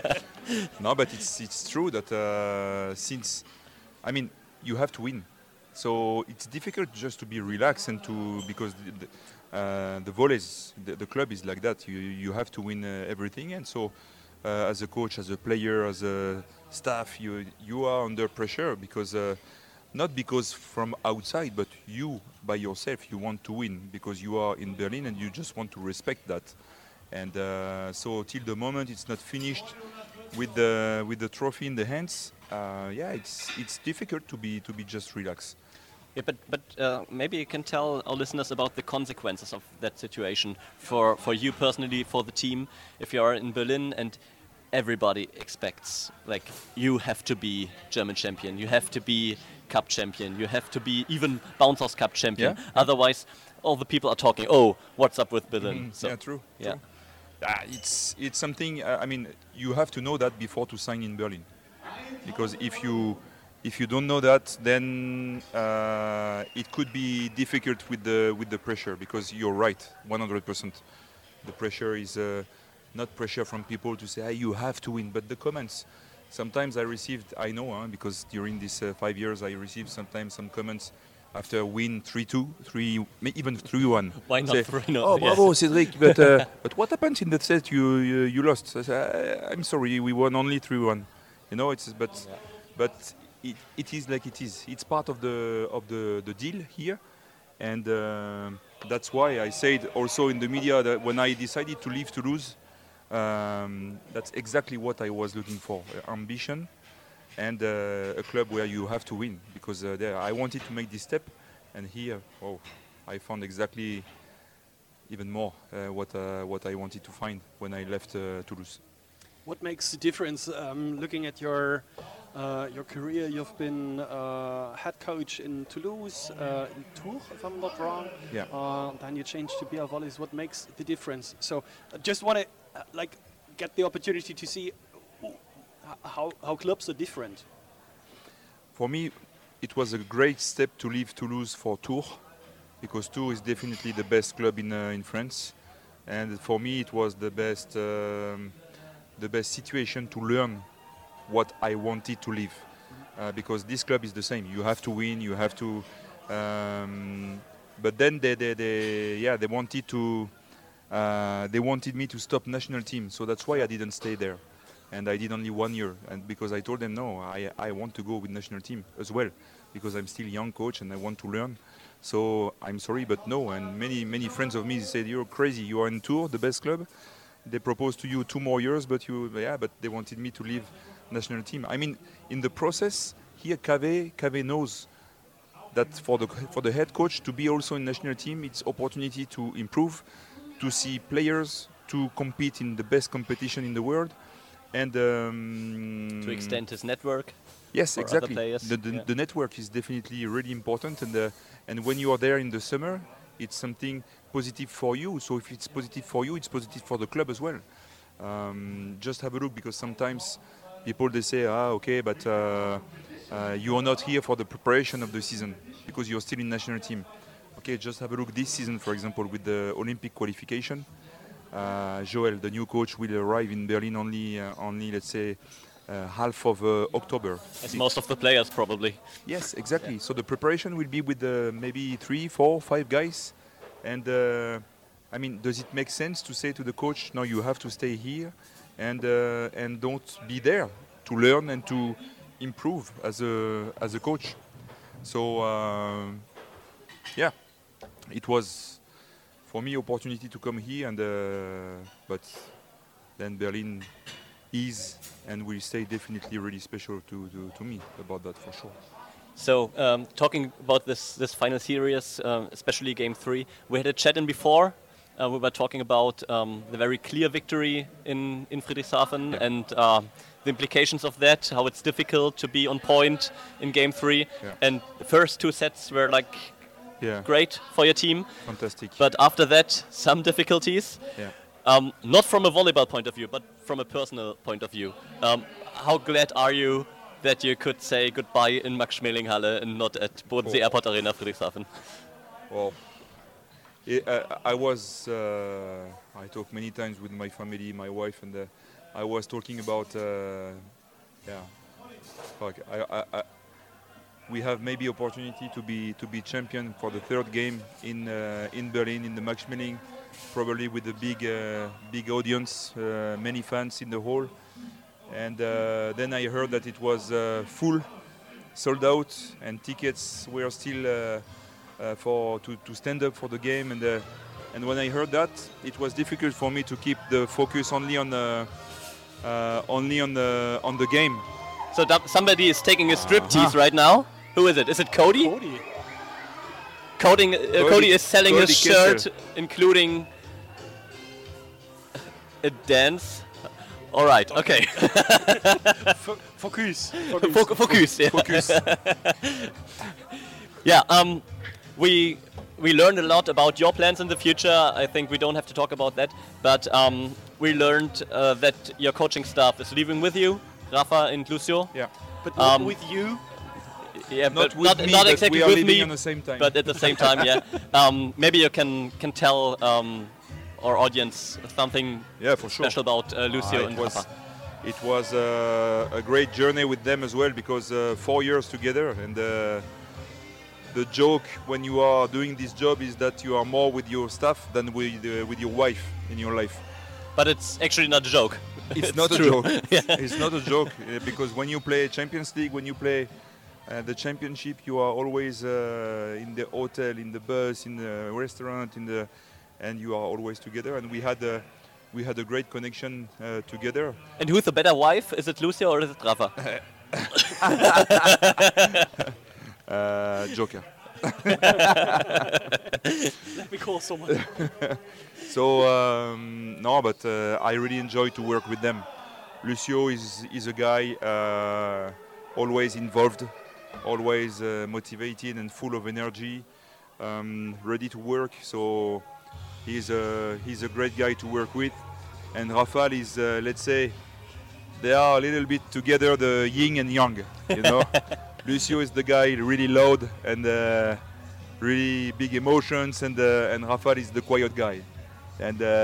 No, but it's it's true that uh, since, I mean, you have to win. So it's difficult just to be relaxed and to because the, the, uh, the volleys, the, the club is like that. You you have to win uh, everything, and so uh, as a coach, as a player, as a staff, you you are under pressure because uh, not because from outside, but you by yourself you want to win because you are in Berlin and you just want to respect that. And uh, so till the moment it's not finished with the with the trophy in the hands, uh, yeah, it's it's difficult to be to be just relaxed. Yeah, but but uh, maybe you can tell our listeners about the consequences of that situation for for you personally, for the team. If you are in Berlin and everybody expects, like, you have to be German champion, you have to be cup champion, you have to be even Bouncers Cup champion. Yeah. Otherwise, all the people are talking, oh, what's up with Berlin? Mm, So, yeah, true. Yeah. True. Ah, it's it's something. Uh, I mean, you have to know that before to sign in Berlin, because if you if you don't know that, then uh, it could be difficult with the with the pressure. Because you're right, one hundred percent. The pressure is uh, not pressure from people to say, hey, you have to win, but the comments. Sometimes I received, I know, huh, because during these uh, five years I received sometimes some comments after a win three two, three, even three one. Why not Say, three nil? Oh, Yes. bravo, Cedric, but uh, but what happened in that set? You you, you lost. I say, I, I'm sorry, we won only three one. You know, it's but Yeah. but it, it is like it is. It's part of the of the, the deal here, and uh, that's why I said also in the media that when I decided to leave Toulouse, um, that's exactly what I was looking for: uh, ambition. And uh, a club where you have to win, because uh, there I wanted to make this step, and here, oh, I found exactly even more uh, what uh, what I wanted to find when I left uh, Toulouse. What makes the difference? Um, looking at your uh, your career, you've been uh, head coach in Toulouse, uh, in Tours, if I'm not wrong. Yeah. Uh, then you changed to B R Volleys. What makes the difference? So, uh, just want to uh, like get the opportunity to see how how clubs are different. For me, it was a great step to leave Toulouse for Tours, because Tours is definitely the best club in uh, in France, and for me it was the best um, the best situation to learn what I wanted to live, uh, because this club is the same. You have to win. You have to. Um, but then they, they, they yeah they wanted to uh, they wanted me to stop national team, so that's why I didn't stay there. And I did only one year, and because I told them no, I, I want to go with national team as well, because I'm still young coach and I want to learn. So I'm sorry, but no. And many many friends of me said, you're crazy. You are in Tours, the best club. They proposed to you two more years, but you yeah, but they wanted me to leave national team. I mean, in the process here, Cave Cave knows that for the for the head coach to be also in national team, it's opportunity to improve, to see players, to compete in the best competition in the world. And um, To extend his network. Yes, for exactly. other players. The, the, Yeah. the network is definitely really important, and uh, and when you are there in the summer, it's something positive for you. So if it's positive for you, it's positive for the club as well. Um, just have a look, because sometimes people they say, ah, okay, but uh, uh, you are not here for the preparation of the season because you're still in national team. Okay, just have a look this season, for example, with the Olympic qualification. Uh, Joel, the new coach, will arrive in Berlin only, uh, only let's say, uh, half of uh, October. As most of the players probably. Yes, exactly. Yeah. So the preparation will be with uh, maybe three, four, five guys. And uh, I mean, does it make sense to say to the coach, no, you have to stay here and uh, and don't be there to learn and to improve as a as a coach? So uh, yeah, it was for me opportunity to come here, and uh, but then Berlin is and will stay definitely really special to, to, to me about that for sure. So um, talking about this this final series, um, especially game three, we had a chat in before. Uh, we were talking about um, the very clear victory in in Friedrichshafen, Yeah. and uh, the implications of that. How it's difficult to be on point in game three, Yeah. and the first two sets were like Yeah. great for your team. Fantastic. But after that, some difficulties. Yeah. Um, not from a volleyball point of view, but from a personal point of view. Um, how glad are you that you could say goodbye in Max-Schmeling-Halle and not at Bodensee Oh. Airport Arena Friedrichshafen? Well, I, I, I was. Uh, I talked many times with my family, my wife, and uh, I was talking about. Uh, yeah. Fuck. I, I, I, we have maybe opportunity to be to be champion for the third game in uh, in Berlin in the Maxmeling, probably with a big uh, big audience, uh, many fans in the hall. And uh, then I heard that it was uh, full, sold out, and tickets were still uh, uh, for to, to stand up for the game. And uh, and when I heard that, it was difficult for me to keep the focus only on the uh, only on the on the game. So that somebody is taking a striptease uh-huh. right now. Who is it? Is it Cody? Cody. Cody, uh, Cody, Cody is selling Cody his Kessel. shirt, including a dance. All right. Okay. Focus. Focus. Focus. Yeah. Focus. yeah. Um, we we learned a lot about your plans in the future. I think we don't have to talk about that. But um, we learned uh, that your coaching staff is leaving with you, Rafa and Lucio. Yeah. But not Um, with you. Yeah, Not but with not, me, not but exactly we are with living me, on the same time. but at the same time, yeah. Um, maybe you can can tell um, our audience something Yeah, for sure. special about uh, Lucio Uh, and it was, Rafa. it was uh, a great journey with them as well, because uh, four years together, and uh, the joke when you are doing this job is that you are more with your staff than with uh, with your wife in your life. But it's actually not a joke. It's, not a true. joke. Yeah. It's not a joke uh, because when you play Champions League, when you play uh, the championship, you are always uh, in the hotel, in the bus, in the restaurant, in the, and you are always together. And we had a, we had a great connection uh, together. And who's the better wife? Is it Lucio or is it Rafa? uh, Joker. Let me call someone. So um, no, but uh, I really enjoy to work with them. Lucio is is a guy uh, always involved, always uh, motivated and full of energy, um, ready to work. So he's a he's a great guy to work with. And Rafael is, uh, let's say, they are a little bit together, the yin and yang, you know. Lucio is the guy really loud and uh, really big emotions, and uh, and Rafael is the quiet guy. And uh,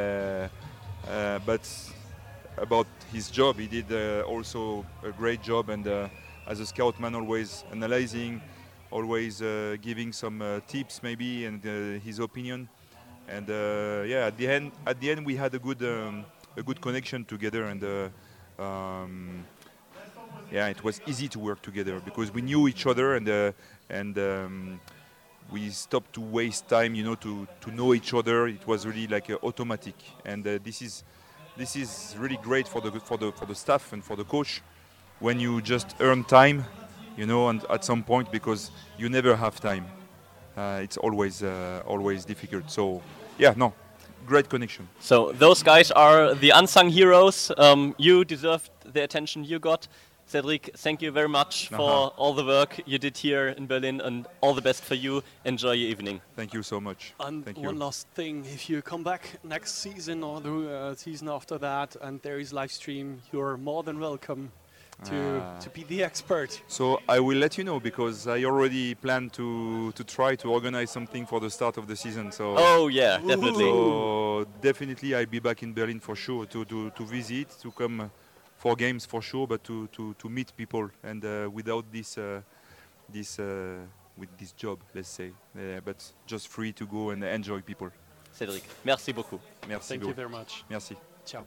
uh, but about his job, he did uh, also a great job, and uh, as a scout man, always analyzing, always uh, giving some uh, tips maybe, and uh, his opinion. And uh, yeah, at the end, at the end, we had a good um, a good connection together, and uh, um, yeah, it was easy to work together because we knew each other, and uh, and. Um, we stopped to waste time, you know, to, to know each other. It was really like uh, automatic, and uh, this is this is really great for the for the for the staff and for the coach when you just earn time, you know, and at some point, because you never have time. Uh, it's always uh, always difficult. So yeah, no, great connection. So those guys are the unsung heroes. Um, you deserved the attention you got. Cedric, thank you very much for Uh-huh. all the work you did here in Berlin, and all the best for you. Enjoy your evening. Thank you so much. And Thank one you. last thing, if you come back next season or the uh, season after that and there is live stream, you're more than welcome to, Ah. to be the expert. So I will let you know, because I already plan to to try to organize something for the start of the season. So Oh yeah, definitely. So definitely I'll be back in Berlin for sure to, to, to visit, to come uh, for games for sure, but to, to, to meet people, and uh, without this uh, this uh, with this job, let's say, uh, but just free to go and enjoy people. Cedric, merci beaucoup. Merci. Thank Go. you very much. Merci. Ciao.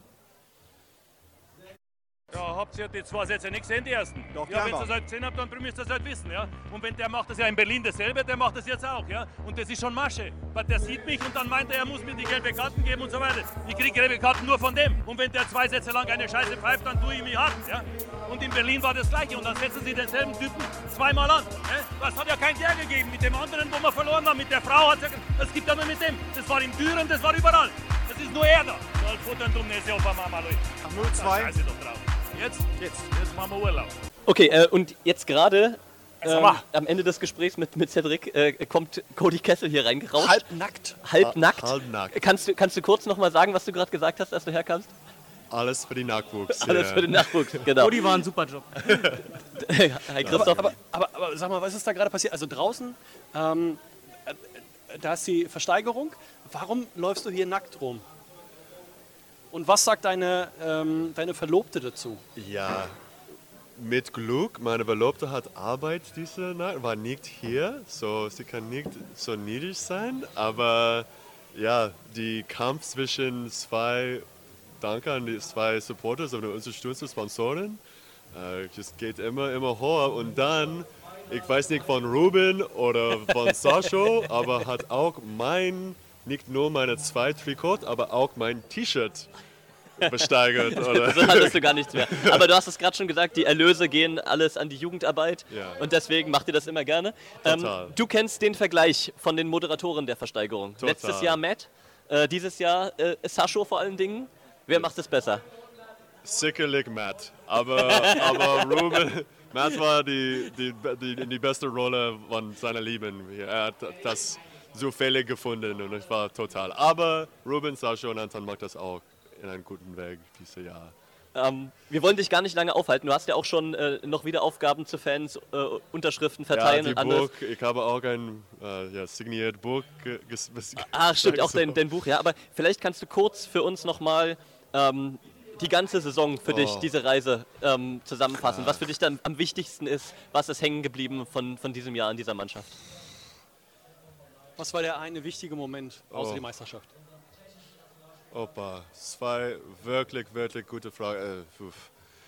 Ja, habt ihr die zwei Sätze nicht gesehen, die ersten? Doch, ja, die wenn ihr haben das halt gesehen habt, dann müsst ihr das halt wissen, ja. Und wenn der macht das ja in Berlin dasselbe, der macht das jetzt auch, ja. Und das ist schon Masche. Weil der sieht mich und dann meint er, er muss mir die gelbe Karten geben und so weiter. Ich kriege gelbe Karten nur von dem. Und wenn der zwei Sätze lang eine Scheiße pfeift, dann tue ich mich hart, ja. Und in Berlin war das Gleiche. Und dann setzen sie denselben Typen zweimal an. Ja? Das hat ja kein Der gegeben. Mit dem anderen, wo wir verloren haben, mit der Frau hat es ja... Das gibt ja nur mit dem. Das war in Düren, das war überall. Das ist nur er da. Soll futtern, du Nesse auf Mama, Leute. null zwei. Scheiße doch drauf. Jetzt? Jetzt. Jetzt machen wir Urlaub. Okay, äh, und jetzt gerade Sag ähm, mal. am Ende des Gesprächs mit, mit Cedric äh, kommt Cody Kessel hier reingerauscht. Halbnackt. Halbnackt. Halbnackt. Kannst du, kannst du kurz nochmal sagen, was du gerade gesagt hast, als du herkamst? Alles für den Nachwuchs. Alles ja. für den Nachwuchs, genau. Cody war ein super Job. Hi Christoph. Aber, aber, aber sag mal, was ist da gerade passiert? Also draußen, ähm, äh, da ist die Versteigerung. Warum läufst du hier nackt rum? Und was sagt deine, ähm, deine Verlobte dazu? Ja, mit Glück, meine Verlobte hat Arbeit diese Nacht, war nicht hier, so sie kann nicht so niedrig sein, aber ja, die Kampf zwischen zwei, danke an die zwei Supporters und unterstützenden Sponsoren, äh, das geht immer, immer höher und dann, ich weiß nicht von Ruben oder von Sascho, aber hat auch mein, nicht nur meine zwei Trikots, aber auch mein T-Shirt besteigert. Oder? So hattest du gar nichts mehr. Aber du hast es gerade schon gesagt, die Erlöse gehen alles an die Jugendarbeit Ja. und deswegen macht ihr das immer gerne. Total. Ähm, du kennst den Vergleich von den Moderatoren der Versteigerung. Total. Letztes Jahr Matt, äh, dieses Jahr äh, Sascho vor allen Dingen. Wer macht es besser? Sicherlich Matt, aber, aber Ruben, Matt war die, die, die, die beste Rolle von seiner Lieben. Er hat das zufällig gefunden und ich war total. Aber Ruben, Sascha und Anton macht das auch in einem guten Weg dieses Jahr. Ähm, wir wollen dich gar nicht lange aufhalten. Du hast ja auch schon äh, noch wieder Aufgaben zu Fans, äh, Unterschriften verteilen ja, die und alles. Buch, ich habe auch ein äh, ja, signiert Buch. Ge- ges- Ah, stimmt, auch so. dein, dein Buch, ja. Aber vielleicht kannst du kurz für uns nochmal ähm, die ganze Saison für dich, Oh. diese Reise ähm, zusammenfassen. Was für dich dann am wichtigsten ist, was ist hängen geblieben von, von diesem Jahr in dieser Mannschaft? Was war der eine wichtige Moment außer Oh. die Meisterschaft? Opa, zwei wirklich, wirklich gute Fragen. Äh, uff.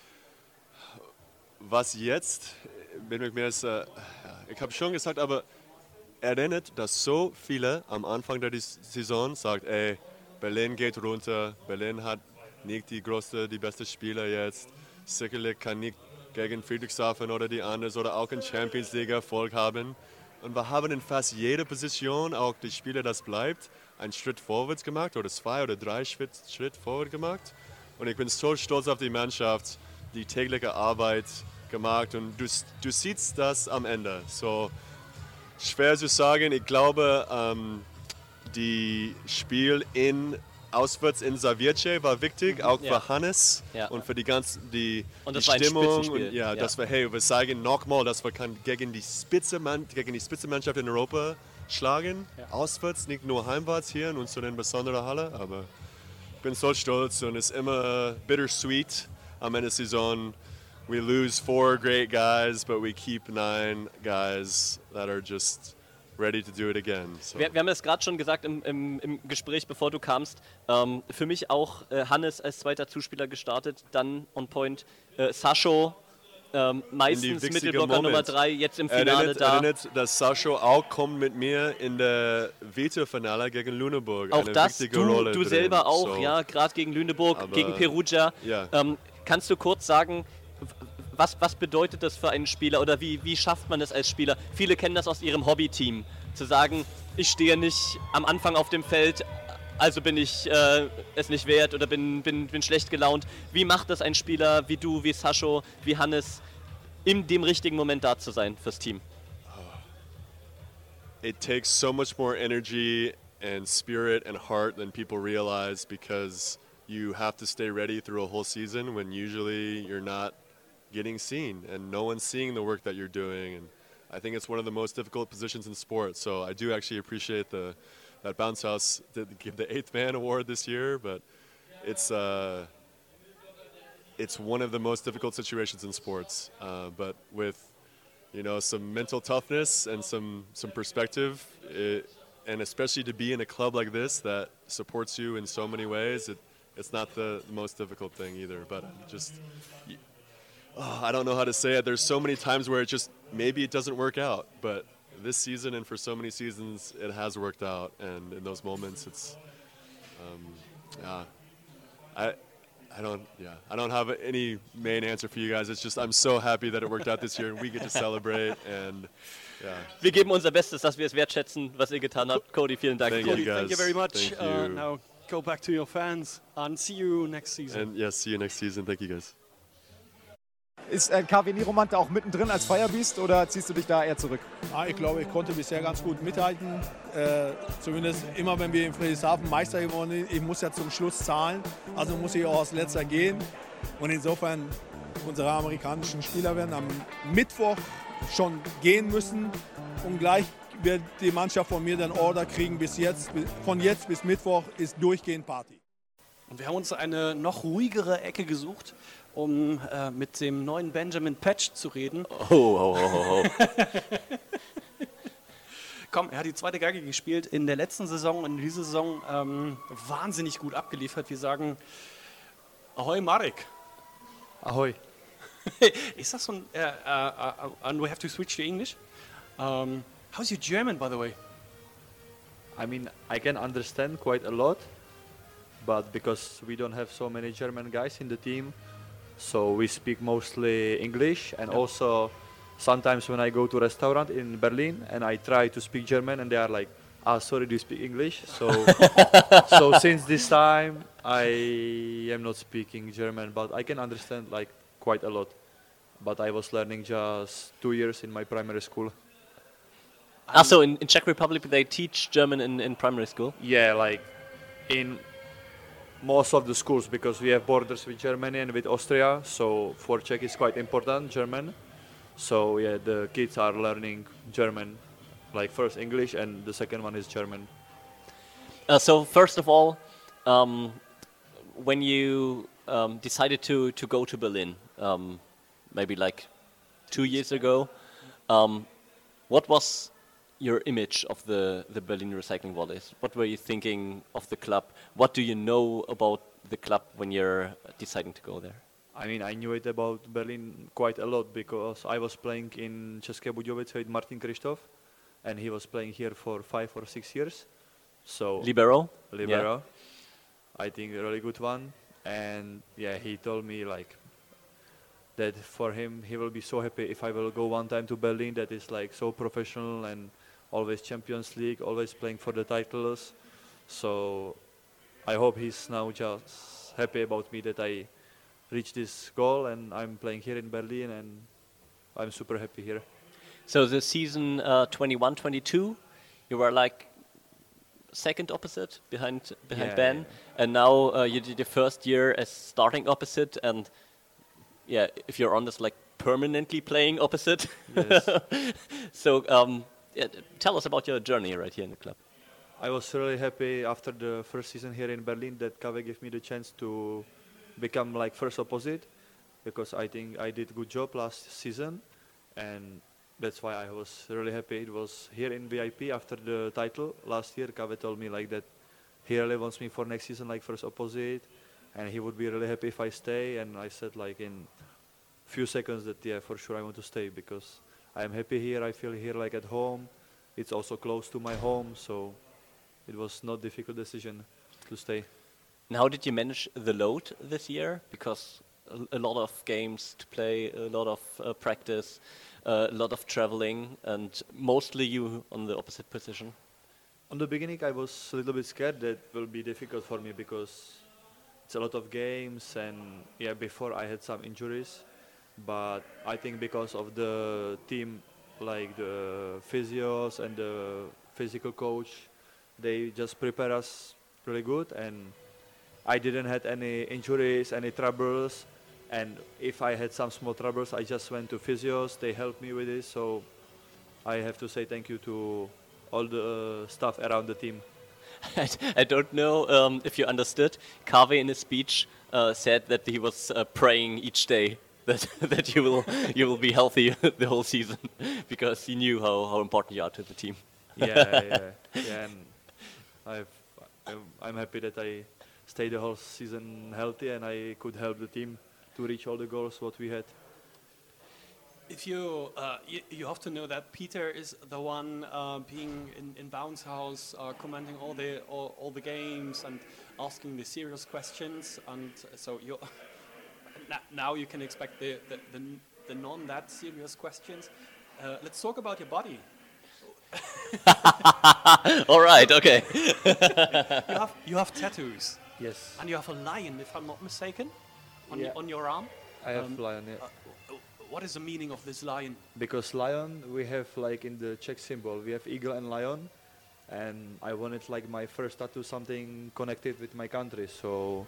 Was jetzt? Bin ich mir jetzt, äh, ich habe schon gesagt, aber erinnert, dass so viele am Anfang der Saison sagt, ey, Berlin geht runter, Berlin hat nicht die größte, die beste Spieler jetzt, sicherlich kann nicht gegen Friedrichshafen oder die anderen oder auch in Champions League Erfolg haben. Und wir haben in fast jeder Position, auch die Spieler, das bleibt, einen Schritt vorwärts gemacht oder zwei oder drei Schritt, Schritt vorwärts gemacht. Und ich bin so stolz auf die Mannschaft, die tägliche Arbeit gemacht und du, du siehst das am Ende. So schwer zu sagen, ich glaube, ähm, die Spiel in auswärts in Zawiercie war wichtig, auch Ja. für Hannes Ja. und für die ganze die, Und die das war ein Stimmung. Spitzenspiel. Und, ja, Ja. dass wir, hey, wir sagen nochmal, dass wir kann gegen die Spitze gegen die Spitzenmannschaft in Europa schlagen. Ja. Auswärts, nicht nur heimwärts hier in unserer besonderen Halle, aber ich bin so stolz und es ist immer bittersweet am Ende der Saison. We lose four great guys, but we keep nine guys that are just ready to do it again. So. Wir, wir haben es gerade schon gesagt im, im, im Gespräch, bevor du kamst. Ähm, für mich auch äh, Hannes als zweiter Zuspieler gestartet, dann on point äh, Sascho, ähm, meistens wichtige Mittelblocker Moment. Nummer drei, jetzt im Finale erinnert, da. Erinnert, dass Sascha auch kommt mit mir in der Vita-Finale gegen Lüneburg. Auch eine das, wichtige du, Rolle du drin. selber auch, So. ja, gerade gegen Lüneburg, Aber- gegen Perugia. Ja. Ähm, kannst du kurz sagen, w- was, was bedeutet das für einen Spieler oder wie, wie schafft man es als Spieler? Viele kennen das aus ihrem Hobbyteam, zu sagen, ich stehe nicht am Anfang auf dem Feld, also bin ich äh, es nicht wert oder bin, bin, bin schlecht gelaunt. Wie macht das ein Spieler wie du, wie Sascho, wie Hannes, in dem richtigen Moment da zu sein fürs Team? It takes so much more energy and spirit and heart than people realize because you have to stay ready through a whole season when usually you're not getting seen and no one's seeing the work that you're doing. And I think it's one of the most difficult positions in sports. So I do actually appreciate the that Bounce House did give the eighth man award this year, but it's uh, it's one of the most difficult situations in sports. Uh, but with you know some mental toughness and some some perspective, it, and especially to be in a club like this that supports you in so many ways, it, it's not the most difficult thing either. But just oh, I don't know how to say it. There's so many times where it just maybe it doesn't work out, but this season and for so many seasons it has worked out, and in those moments it's um, yeah I I don't yeah I don't have any main answer for you guys. It's just I'm so happy that it worked out this year and we get to celebrate, and yeah. Wir geben unser Bestes, dass wir es wertschätzen, was ihr getan habt. Cody, vielen Dank. Thank dir. you, guys. Thank you very much. Thank Uh, you. now go back to your fans and see you next season. And yeah, see you next season. Thank you guys. Ist äh, K W Nieromant da auch mittendrin als Firebeast oder ziehst du dich da eher zurück? Ja, ich glaube, ich konnte bisher ganz gut mithalten. Äh, zumindest immer, wenn wir in Friedrichshafen Meister geworden sind. Ich muss ja zum Schluss zahlen, also muss ich auch als Letzter gehen. Und insofern, unsere amerikanischen Spieler werden am Mittwoch schon gehen müssen. Und gleich wird die Mannschaft von mir dann Order kriegen. Bis jetzt, von jetzt bis Mittwoch ist durchgehend Party. Und wir haben uns eine noch ruhigere Ecke gesucht, um äh, mit dem neuen Benjamin Patch zu reden. Oh, oh, oh, oh. Komm, er hat die zweite Geige gespielt in der letzten Saison und in dieser Saison ähm, wahnsinnig gut abgeliefert. Wir sagen Ahoi Marek. Ahoi. Is that some, uh, uh, uh, and we have to switch to English. Um, how's your German, by the way? I mean, I can understand quite a lot, but because we don't have so many German guys in the team, so we speak mostly English, and Yeah. also sometimes when I go to a restaurant in Berlin and I try to speak German and they are like, ah, sorry, do you speak English? So, so since this time I am not speaking German, but I can understand like quite a lot. But I was learning just two years in my primary school. Ah, so in, in Czech Republic they teach German in, in primary school? Yeah, like in most of the schools, because we have borders with Germany and with Austria, so for Czech is quite important, German. So yeah, the kids are learning German, like first English and the second one is German. Uh, so first of all, um, when you um, decided to, to go to Berlin, um, maybe like two years ago, um, what was your image of the, the Berlin Recycling Volleys? What were you thinking of the club? What do you know about the club when you're deciding to go there? I mean, I knew it about Berlin quite a lot because I was playing in České Budějovice with Martin Krištof, and he was playing here for five or six years. So Libero? Libero. Yeah. I think a really good one. And yeah, he told me like that for him he will be so happy if I will go one time to Berlin that is like so professional and always Champions League, always playing for the titles. So I hope he's now just happy about me that I reached this goal and I'm playing here in Berlin and I'm super happy here. So the season uh, twenty-one twenty-two, you were like second opposite behind behind Yeah, Ben, yeah. and now uh, you did your first year as starting opposite, and yeah, if you're honest, like permanently playing opposite. Yes. So um, yeah, tell us about your journey right here in the club. I was really happy after the first season here in Berlin that Kave gave me the chance to become like first opposite, because I think I did a good job last season, and that's why I was really happy. It was here in V I P after the title last year. Kave told me like that he really wants me for next season like first opposite, and he would be really happy if I stay. And I said like in few seconds that yeah, for sure I want to stay because I am happy here. I feel here like at home. It's also close to my home, so it was not difficult decision to stay. And how did you manage the load this year? Because a, a lot of games to play, a lot of uh, practice, uh, a lot of traveling, and mostly you on the opposite position. On the beginning, I was a little bit scared that will be difficult for me because it's a lot of games, and yeah, before I had some injuries. But I think because of the team, like the physios and the physical coach, they just prepare us really good, and I didn't had any injuries, any troubles, and if I had some small troubles, I just went to physios. They helped me with this, so I have to say thank you to all the uh, staff around the team. I don't know um, if you understood. Kave in his speech uh, said that he was uh, praying each day that that you will you will be healthy the whole season because he knew how, how important you are to the team. yeah, yeah, yeah. And I've, I'm, I'm happy that I stayed the whole season healthy and I could help the team to reach all the goals what we had. If you, uh, you you have to know that Peter is the one uh, being in, in Bounce House, uh, commenting all the all, all the games and asking the serious questions, and so you now you can expect the the, the, the non that serious questions. Uh, let's talk about your body. All right, okay. you have you have tattoos. Yes. And you have a lion, if I'm not mistaken, on Yeah. your, on your arm. I have lion, yeah. Uh, what is the meaning of this lion? Because lion, we have like in the Czech symbol, we have eagle and lion, and I wanted like my first tattoo something connected with my country, so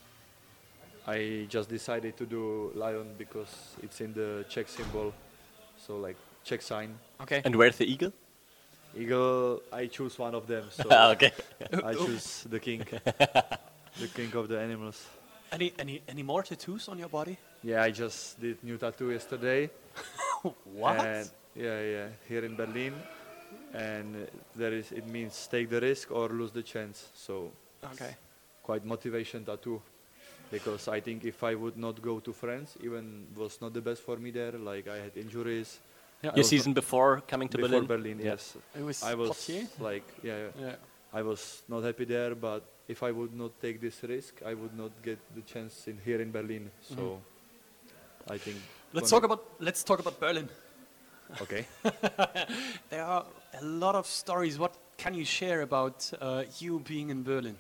I just decided to do lion because it's in the Czech symbol, so like Czech sign. Okay. And where's the eagle? Eagle, I choose one of them, so Okay. I choose the king, the king of the animals. Any any any more tattoos on your body? Yeah, I just did new tattoo yesterday. What? And yeah, yeah, here in Berlin, and uh, there is it means take the risk or lose the chance. So Okay. quite motivation tattoo, because I think if I would not go to France, even was not the best for me there. Like I had injuries. Yeah. I Your was season not- before coming to before Berlin? Berlin, Yeah. yes. It was I was Poitiers? like yeah, yeah. Yeah. I was not happy there, but if I would not take this risk, I would not get the chance in here in Berlin. So Mhm. I think. Let's gonna- talk about let's talk about Berlin. Okay. There are a lot of stories. What can you share about uh, you being in Berlin?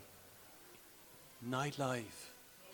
Nightlife.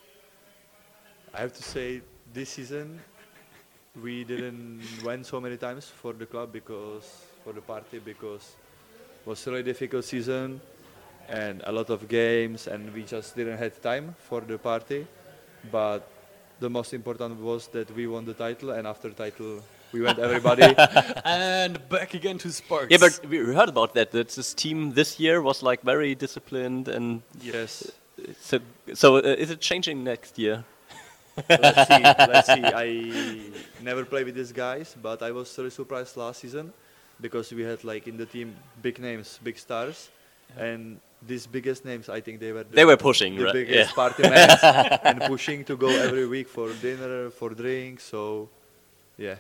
I have to say, this season we didn't went so many times for the club because for the party because it was a really difficult season and a lot of games, and we just didn't have time for the party. But the most important was that we won the title, and after title we went everybody. And back again to sports. Yeah, but we heard about that. That this team this year was like very disciplined and Yes. So, so uh, is it changing next year? let's see. Let's see. I never played with these guys, but I was really surprised last season because we had like in the team big names, big stars, and these biggest names. I think they were the, They were pushing, the right? biggest Yeah. party men and pushing to go every week for dinner, for drinks. So, yeah.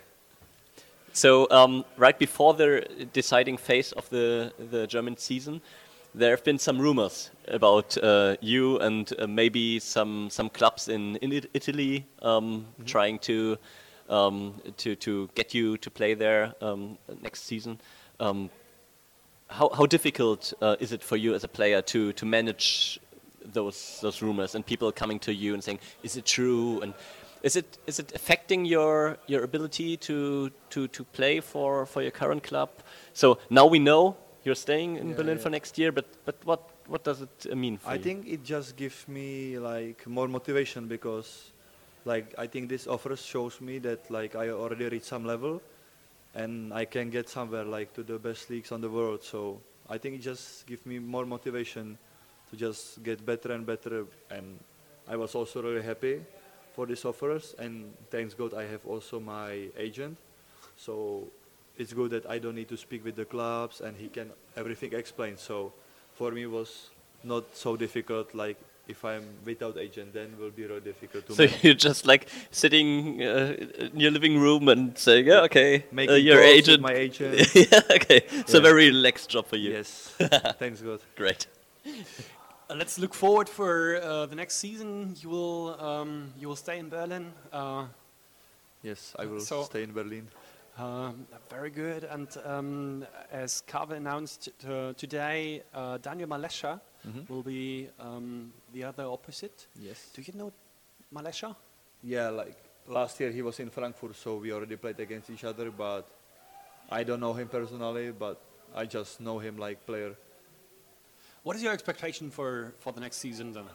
So um, right before the deciding phase of the the German season, there have been some rumors about uh, you and uh, maybe some some clubs in in It- Italy um, trying to um, to to get you to play there um, next season. Um, how how difficult uh, is it for you as a player to to manage those those rumors and people coming to you and saying, "Is it true?" and is it is it affecting your your ability to to to play for for your current club? So now we know you're staying in Yeah, Berlin yeah. for next year, but but what what does it uh, mean for I you? think it just gives me like more motivation because like I think this offers shows me that like I already reached some level and I can get somewhere like to the best leagues on the world. So I think it just gives me more motivation to just get better and better, and I was also really happy for these offers, and thanks God I have also my agent. So it's good that I don't need to speak with the clubs and he can everything explain. So for me it was not so difficult. Like if I'm without agent, then it will be really difficult to So manage. you're just like sitting uh, in your living room and saying, "Yeah, okay, uh, Making your calls with agent." my agent. Yeah, okay. It's a Yeah. very relaxed job for you. Yes. Thanks God. Great. Uh, let's look forward for uh, the next season. You will um, you will stay in Berlin. Uh, Yes, I will So- stay in Berlin. Um, very good. And um, as Kave announced uh, today, uh, Daniel Malesha Mhm. will be um, the other opposite. Yes. Do you know Malesha? Yeah, like last year he was in Frankfurt, so we already played against each other, but I don't know him personally, but I just know him like player. What is your expectation for, for the next season then?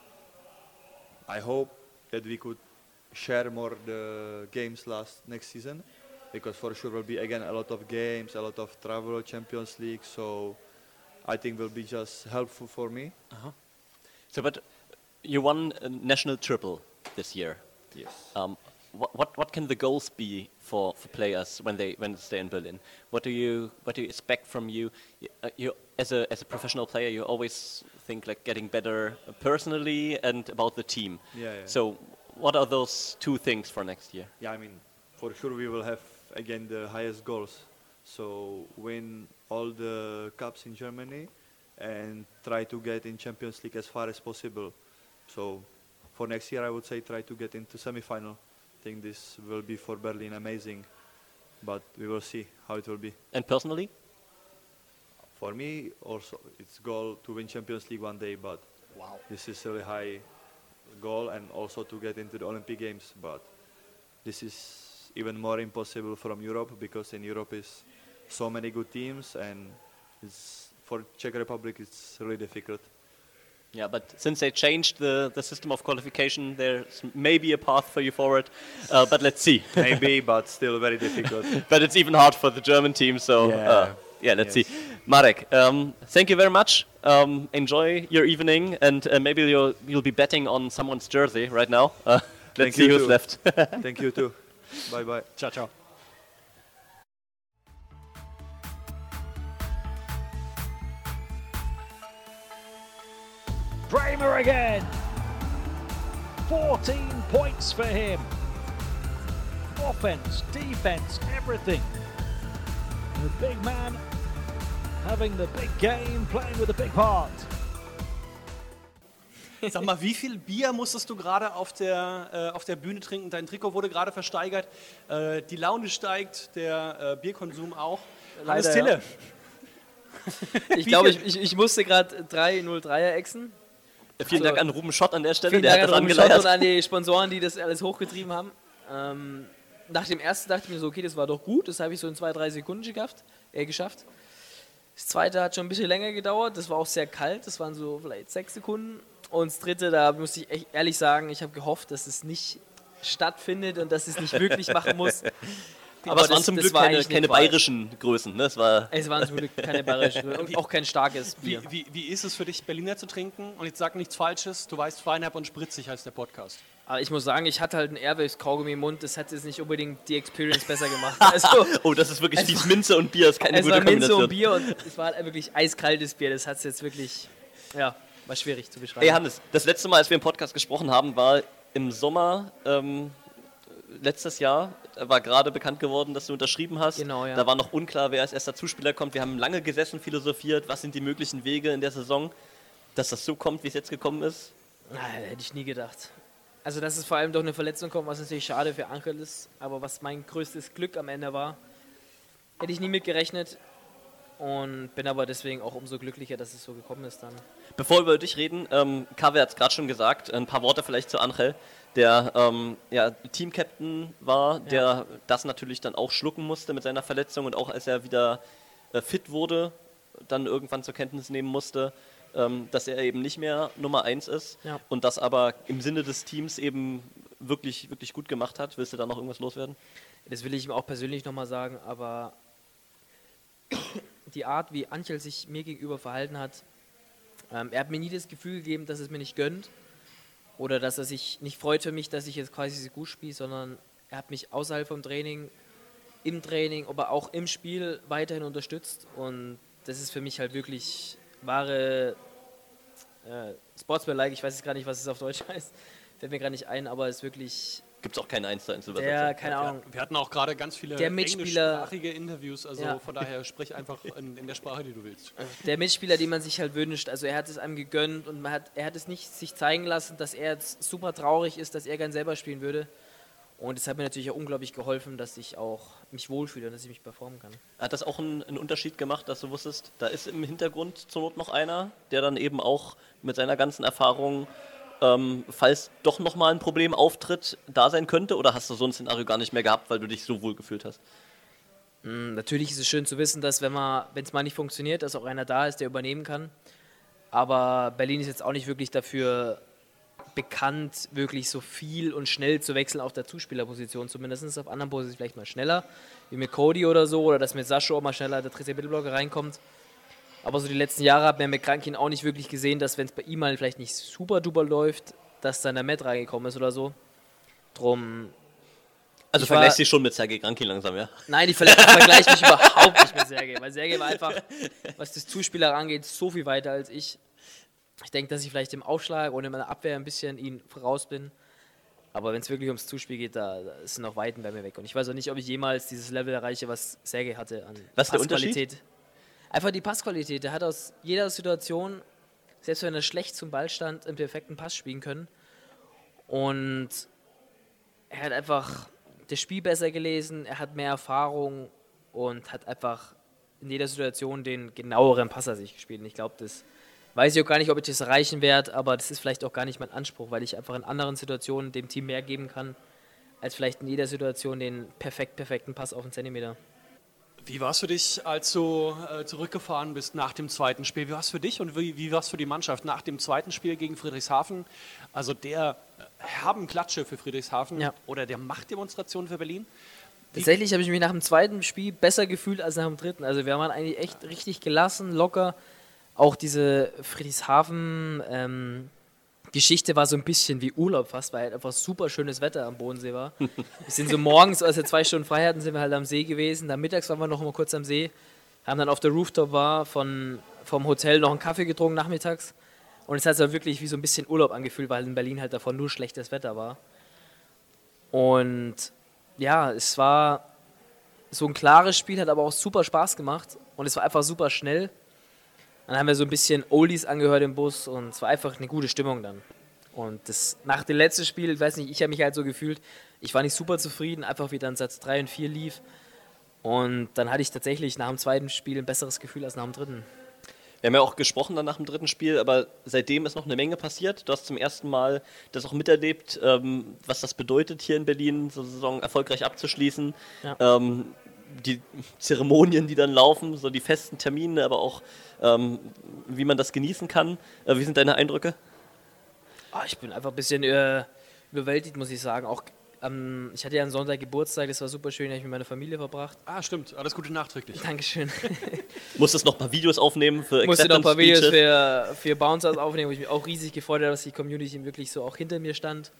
I hope that we could share more the games last next season, because for sure will be again a lot of games, a lot of travel, Champions League. So I think will be just helpful for me. Uh-huh. So, but you won a national triple this year. Yes. Um, what, what what can the goals be for, for players when they when they stay in Berlin? What do you what do you expect from you? Y- uh, You as a as a professional player, you always think like getting better personally and about the team. Yeah, yeah. So, what are those two things for next year? Yeah, I mean, for sure we will have again the highest goals. So win all the cups in Germany and try to get in Champions League as far as possible. So for next year I would say try to get into semi-final. I think this will be for Berlin amazing, but we will see how it will be. And personally? For me also it's goal to win Champions League one day, but Wow. this is a really high goal, and also to get into the Olympic Games, but this is even more impossible from Europe because in Europe is so many good teams, and it's for Czech Republic it's really difficult. Yeah, but since they changed the, the system of qualification, there's maybe a path for you forward. Uh, but let's see. Maybe, but still very difficult. But it's even hard for the German team, so Yeah. uh, yeah, let's Yes. see. Marek, um, thank you very much. Um, enjoy your evening, and uh, maybe you'll you'll be betting on someone's jersey right now. Uh, Let's see who's left. Thank you too. Bye bye. Ciao, ciao. Bramer again. fourteen points for him. Offense, defense, everything. The big man having the big game, playing with a big part. Sag mal, wie viel Bier musstest du gerade auf der, äh, auf der Bühne trinken? Dein Trikot wurde gerade versteigert. Äh, die Laune steigt, der äh, Bierkonsum auch. Hannes Leider, Tille. Ja. Ich glaube, ich, ich, ich musste gerade drei null dreier exen. Vielen Also, Dank an Ruben Schott an der Stelle, vielen der Dank hat das an Ruben angeleiert. Schott und an die Sponsoren, die das alles hochgetrieben haben. Ähm, nach dem ersten dachte ich mir so, okay, das war doch gut. Das habe ich so in zwei, drei Sekunden geschafft. Äh, geschafft. Das zweite hat schon ein bisschen länger gedauert. Das war auch sehr kalt. Das waren so vielleicht sechs Sekunden. Und das dritte, da muss ich echt ehrlich sagen, ich habe gehofft, dass es nicht stattfindet und dass es nicht wirklich machen muss. Aber es waren zum Glück keine, keine bayerischen Größen. Ne? Es, war es waren zum Glück keine bayerischen Größen und auch kein starkes Bier. Wie, wie, wie ist es für dich, Berliner zu trinken? Und jetzt sag nichts Falsches, du weißt, feinherb und spritzig heißt der Podcast. Aber ich muss sagen, ich hatte halt ein Airwaves-Kaugummi im Mund, das hat jetzt nicht unbedingt die Experience besser gemacht. Also, oh, das ist wirklich fies. Minze und Bier ist keine es gute war Minze Kombination. und Bier und es war halt wirklich eiskaltes Bier. Das hat es jetzt wirklich, ja, war schwierig zu beschreiben. Ey Hannes, das letzte Mal, als wir im Podcast gesprochen haben, war im Sommer ähm, letztes Jahr. War gerade bekannt geworden, dass du unterschrieben hast. Genau, ja. Da war noch unklar, wer als erster Zuspieler kommt. Wir haben lange gesessen, philosophiert, was sind die möglichen Wege in der Saison, dass das so kommt, wie es jetzt gekommen ist. Na, hätte ich nie gedacht. Also, dass es vor allem durch eine Verletzung kommt, was natürlich schade für Angel ist, aber was mein größtes Glück am Ende war, hätte ich nie mitgerechnet und bin aber deswegen auch umso glücklicher, dass es so gekommen ist dann. Bevor wir über dich reden, ähm, Kaveh hat es gerade schon gesagt, ein paar Worte vielleicht zu Angel, der ähm, ja, Team-Captain war, der Ja. das natürlich dann auch schlucken musste mit seiner Verletzung und auch als er wieder äh, fit wurde, dann irgendwann zur Kenntnis nehmen musste, ähm, dass er eben nicht mehr Nummer eins ist Ja. und das aber im Sinne des Teams eben wirklich, wirklich gut gemacht hat. Willst du da noch irgendwas loswerden? Das will ich ihm auch persönlich nochmal sagen, aber die Art, wie Angel sich mir gegenüber verhalten hat, ähm, er hat mir nie das Gefühl gegeben, dass es mir nicht gönnt oder dass er sich nicht freut für mich, dass ich jetzt quasi so gut spiele, sondern er hat mich außerhalb vom Training, im Training, aber auch im Spiel weiterhin unterstützt und das ist für mich halt wirklich wahre äh, Sportsman-like, ich weiß jetzt gar nicht, was es auf Deutsch heißt, fällt mir gerade nicht ein, aber es ist wirklich... Gibt es auch keine eins zu eins Übersetzung? Der, keine Ahnung. Wir hatten auch gerade ganz viele Der Mitspieler- englischsprachige Interviews, also Ja. von daher sprich einfach in, in der Sprache, die du willst. Der Mitspieler, den man sich halt wünscht, also er hat es einem gegönnt und man hat, er hat es nicht sich zeigen lassen, dass er jetzt super traurig ist, dass er gern selber spielen würde. Und es hat mir natürlich auch unglaublich geholfen, dass ich auch mich wohlfühle und dass ich mich performen kann. Hat das auch einen, einen Unterschied gemacht, dass du wusstest, da ist im Hintergrund zur Not noch einer, der dann eben auch mit seiner ganzen Erfahrung, ähm, falls doch nochmal ein Problem auftritt, da sein könnte? Oder hast du so ein Szenario gar nicht mehr gehabt, weil du dich so wohl gefühlt hast? Mm, Natürlich ist es schön zu wissen, dass wenn man, wenn es mal nicht funktioniert, dass auch einer da ist, der übernehmen kann. Aber Berlin ist jetzt auch nicht wirklich dafür bekannt, wirklich so viel und schnell zu wechseln auf der Zuspielerposition, zumindest auf anderen Positionen vielleicht mal schneller, wie mit Cody oder so, oder dass mit Sascho auch mal schneller der dritte Mittelblocker reinkommt. Aber so die letzten Jahre hat man mit Krankin auch nicht wirklich gesehen, dass wenn es bei ihm mal vielleicht nicht super duper läuft, dass dann der Matt reingekommen ist oder so. Drum. Also ich vergleichst war- du dich schon mit Sergei Krankin langsam, ja? Nein, ich vergleiche vergleich mich überhaupt nicht mit Sergei, weil Sergei war einfach, was das Zuspieler angeht, so viel weiter als ich. Ich denke, dass ich vielleicht im Aufschlag und in meiner Abwehr ein bisschen ihn voraus bin. Aber wenn es wirklich ums Zuspiel geht, da, da ist noch Weiten bei mir weg. Und ich weiß auch nicht, ob ich jemals dieses Level erreiche, was Sergei hatte an Was ist der Passqualität. Einfach die Passqualität. Der hat aus jeder Situation, selbst wenn er schlecht zum Ball stand, einen perfekten Pass spielen können. Und er hat einfach das Spiel besser gelesen, er hat mehr Erfahrung und hat einfach in jeder Situation den genaueren Passer sich gespielt. Und ich glaube, das weiß ich auch gar nicht, ob ich das erreichen werde, aber das ist vielleicht auch gar nicht mein Anspruch, weil ich einfach in anderen Situationen dem Team mehr geben kann, als vielleicht in jeder Situation den perfekt perfekten Pass auf den Zentimeter. Wie war es für dich, als du äh, zurückgefahren bist nach dem zweiten Spiel? Wie war es für dich und wie, wie war es für die Mannschaft nach dem zweiten Spiel gegen Friedrichshafen? Also der äh, herben Klatsche für Friedrichshafen Ja. oder der Machtdemonstration für Berlin? Wie- Tatsächlich habe ich mich nach dem zweiten Spiel besser gefühlt als nach dem dritten. Also wir waren eigentlich echt richtig gelassen, locker. Auch diese Friedrichshafen, ähm, Geschichte war so ein bisschen wie Urlaub fast, weil halt einfach super schönes Wetter am Bodensee war. Wir sind so morgens, als wir zwei Stunden frei hatten, sind wir halt am See gewesen. Dann mittags waren wir noch mal kurz am See, haben dann auf der Rooftop war von, vom Hotel noch einen Kaffee getrunken nachmittags. Und es hat sich wirklich wie so ein bisschen Urlaub angefühlt, weil in Berlin halt davon nur schlechtes Wetter war. Und ja, es war so ein klares Spiel, hat aber auch super Spaß gemacht. Und es war einfach super schnell. Dann haben wir so ein bisschen Oldies angehört im Bus und es war einfach eine gute Stimmung dann. Und das, nach dem letzten Spiel, ich weiß nicht, ich habe mich halt so gefühlt, ich war nicht super zufrieden, einfach wie dann Satz drei und vier lief. Und dann hatte ich tatsächlich nach dem zweiten Spiel ein besseres Gefühl als nach dem dritten. Wir haben ja auch gesprochen dann nach dem dritten Spiel, aber seitdem ist noch eine Menge passiert. Du hast zum ersten Mal das auch miterlebt, ähm, was das bedeutet, hier in Berlin so eine Saison erfolgreich abzuschließen. Ja. Ähm, die Zeremonien, die dann laufen, so die festen Termine, aber auch ähm, wie man das genießen kann. Äh, wie sind deine Eindrücke? Ah, ich bin einfach ein bisschen äh, überwältigt, muss ich sagen. Auch ähm, ich hatte ja am Sonntag Geburtstag, das war super schön, habe ich mit meiner Familie verbracht. Ah, stimmt. Alles Gute nachträglich. Dankeschön. Musstest noch ein paar Videos aufnehmen für Ich musste noch ein paar Videos Acceptance für, für Bouncers aufnehmen, wo ich mich auch riesig gefreut habe, dass die Community wirklich so auch hinter mir stand.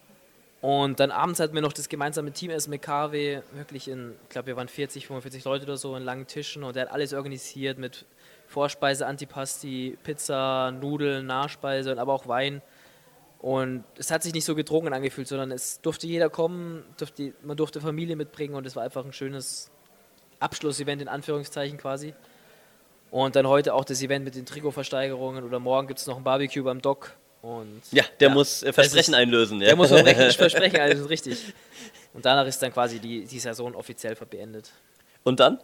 Und dann abends hatten wir noch das gemeinsame Teamessen mit K W, wirklich in, ich glaube wir waren vierzig, fünfundvierzig Leute oder so in langen Tischen und der hat alles organisiert mit Vorspeise, Antipasti, Pizza, Nudeln, Nachspeise und aber auch Wein. Und es hat sich nicht so gedrungen angefühlt, sondern es durfte jeder kommen, durfte, man durfte Familie mitbringen und es war einfach ein schönes Abschlussevent in Anführungszeichen quasi. Und dann heute auch das Event mit den Trikotversteigerungen oder morgen gibt es noch ein Barbecue beim Doc. Und Ja, der muss, äh, Versprechen ist, einlösen, ja. Der muss Versprechen Versprechen einlösen, richtig. Und danach ist dann quasi die, die Saison offiziell beendet. Und dann?